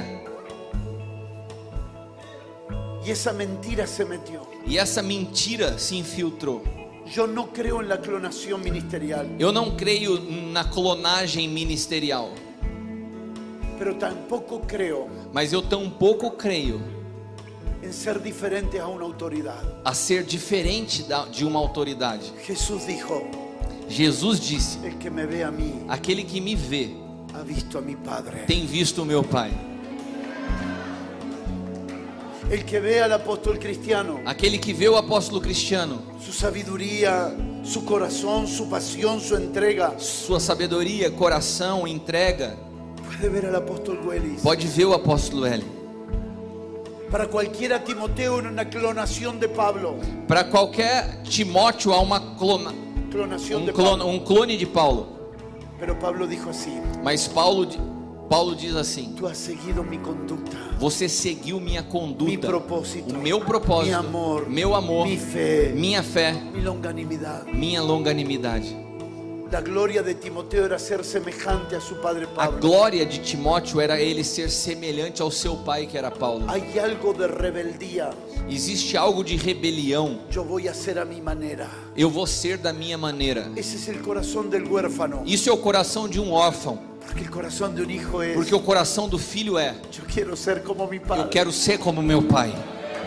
Y esa mentira se metió. E essa mentira se infiltrou. Yo no creo en la clonación ministerial, Eu não creio na clonagem ministerial, pero tampoco creo mas eu tampouco creio en ser diferentes a una autoridad. a ser diferente da- de uma autoridade. Jesús dijo, Jesus disse: el que me ve a mí aquele que me vê ha visto a mi Padre. tem visto o meu Pai. El que ve al apóstol cristiano, Aquele que vê o apóstolo Cristiano, su sabiduría, su corazón, su pasión, su entrega, sua sabedoria, coração, entrega, puede ver al apóstol Willis. pode ver o apóstolo L. Para cualquiera Timoteo era una clonación de Pablo. Para qualquer Timóteo há uma clona, Clonación um, de clone, Pablo. um clone de Paulo. Pero Pablo dijo así, Mas Paulo, di- Paulo diz assim: tú has seguido mi conducta, você seguiu minha mi conduta, propósito, o meu propósito, mi amor, meu amor, mi fe, minha fé, mi longanimidad. minha longanimidade. La gloria de Timoteo era ser semejante a su padre A Pablo. glória de Timóteo era ele ser semelhante ao seu pai, que era Paulo. Hay algo de rebeldía. Existe algo de rebelião. Yo voy a hacer a mi manera. Eu vou ser da minha maneira. Ese es el corazón del huérfano. Isso é o coração de um órfão, Porque el corazón de un hijo es, porque o coração do filho é: yo quiero ser como mi padre. eu quero ser como meu pai.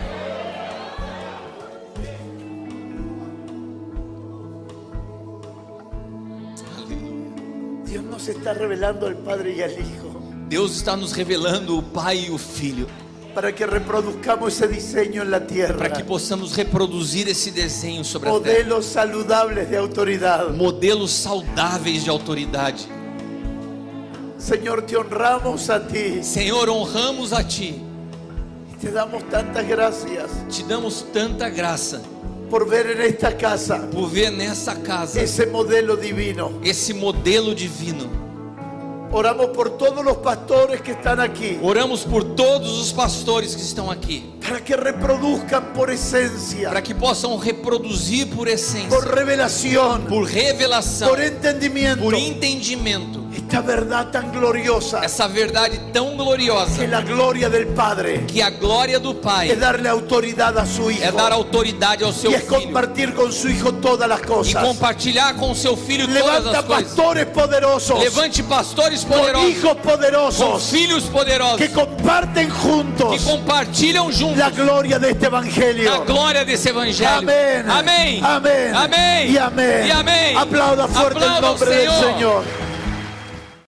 Dios nos está revelando al Padre y al Hijo Deus está nos revelando o pai e o filho, para que reproduzcamos ese diseño en la para tierra. que possamos reproduzir esse desenho sobre a terra. Modelos saludables de autoridad. Modelos saudáveis de autoridade. Señor, te honramos a ti. Senhor, honramos a Ti, Te damos tantas gracias te damos tanta graça por ver en esta casa por ver nessa casa ese modelo divino. esse modelo divino. Oramos por todos los pastores que están aquí, Oramos por todos os pastores que estão aqui, para que reproduzcan por esencia, para que possam reproduzir por essência, por revelación, por revelação, por entendimiento, por entendimento, esta verdad tan gloriosa, essa verdade tão gloriosa, que la gloria del Padre que a glória do Pai es darle autoridad a su Hijo é dar autoridade ao seu y es filho compartir con su Hijo todas las e cosas. compartilhar com seu filho todas Levanta as coisas. pastores poderosos, Levante pastores con poderosos, hijos com poderosos, filhos poderosos, que comparten que juntos compartilham juntos la gloria de este evangelio. a glória desse evangelho. Amén. Amém. Amén. Amém. Y amén. E amém. Aplauda fuerte el Aplauda ao nombre del Senhor. Señor.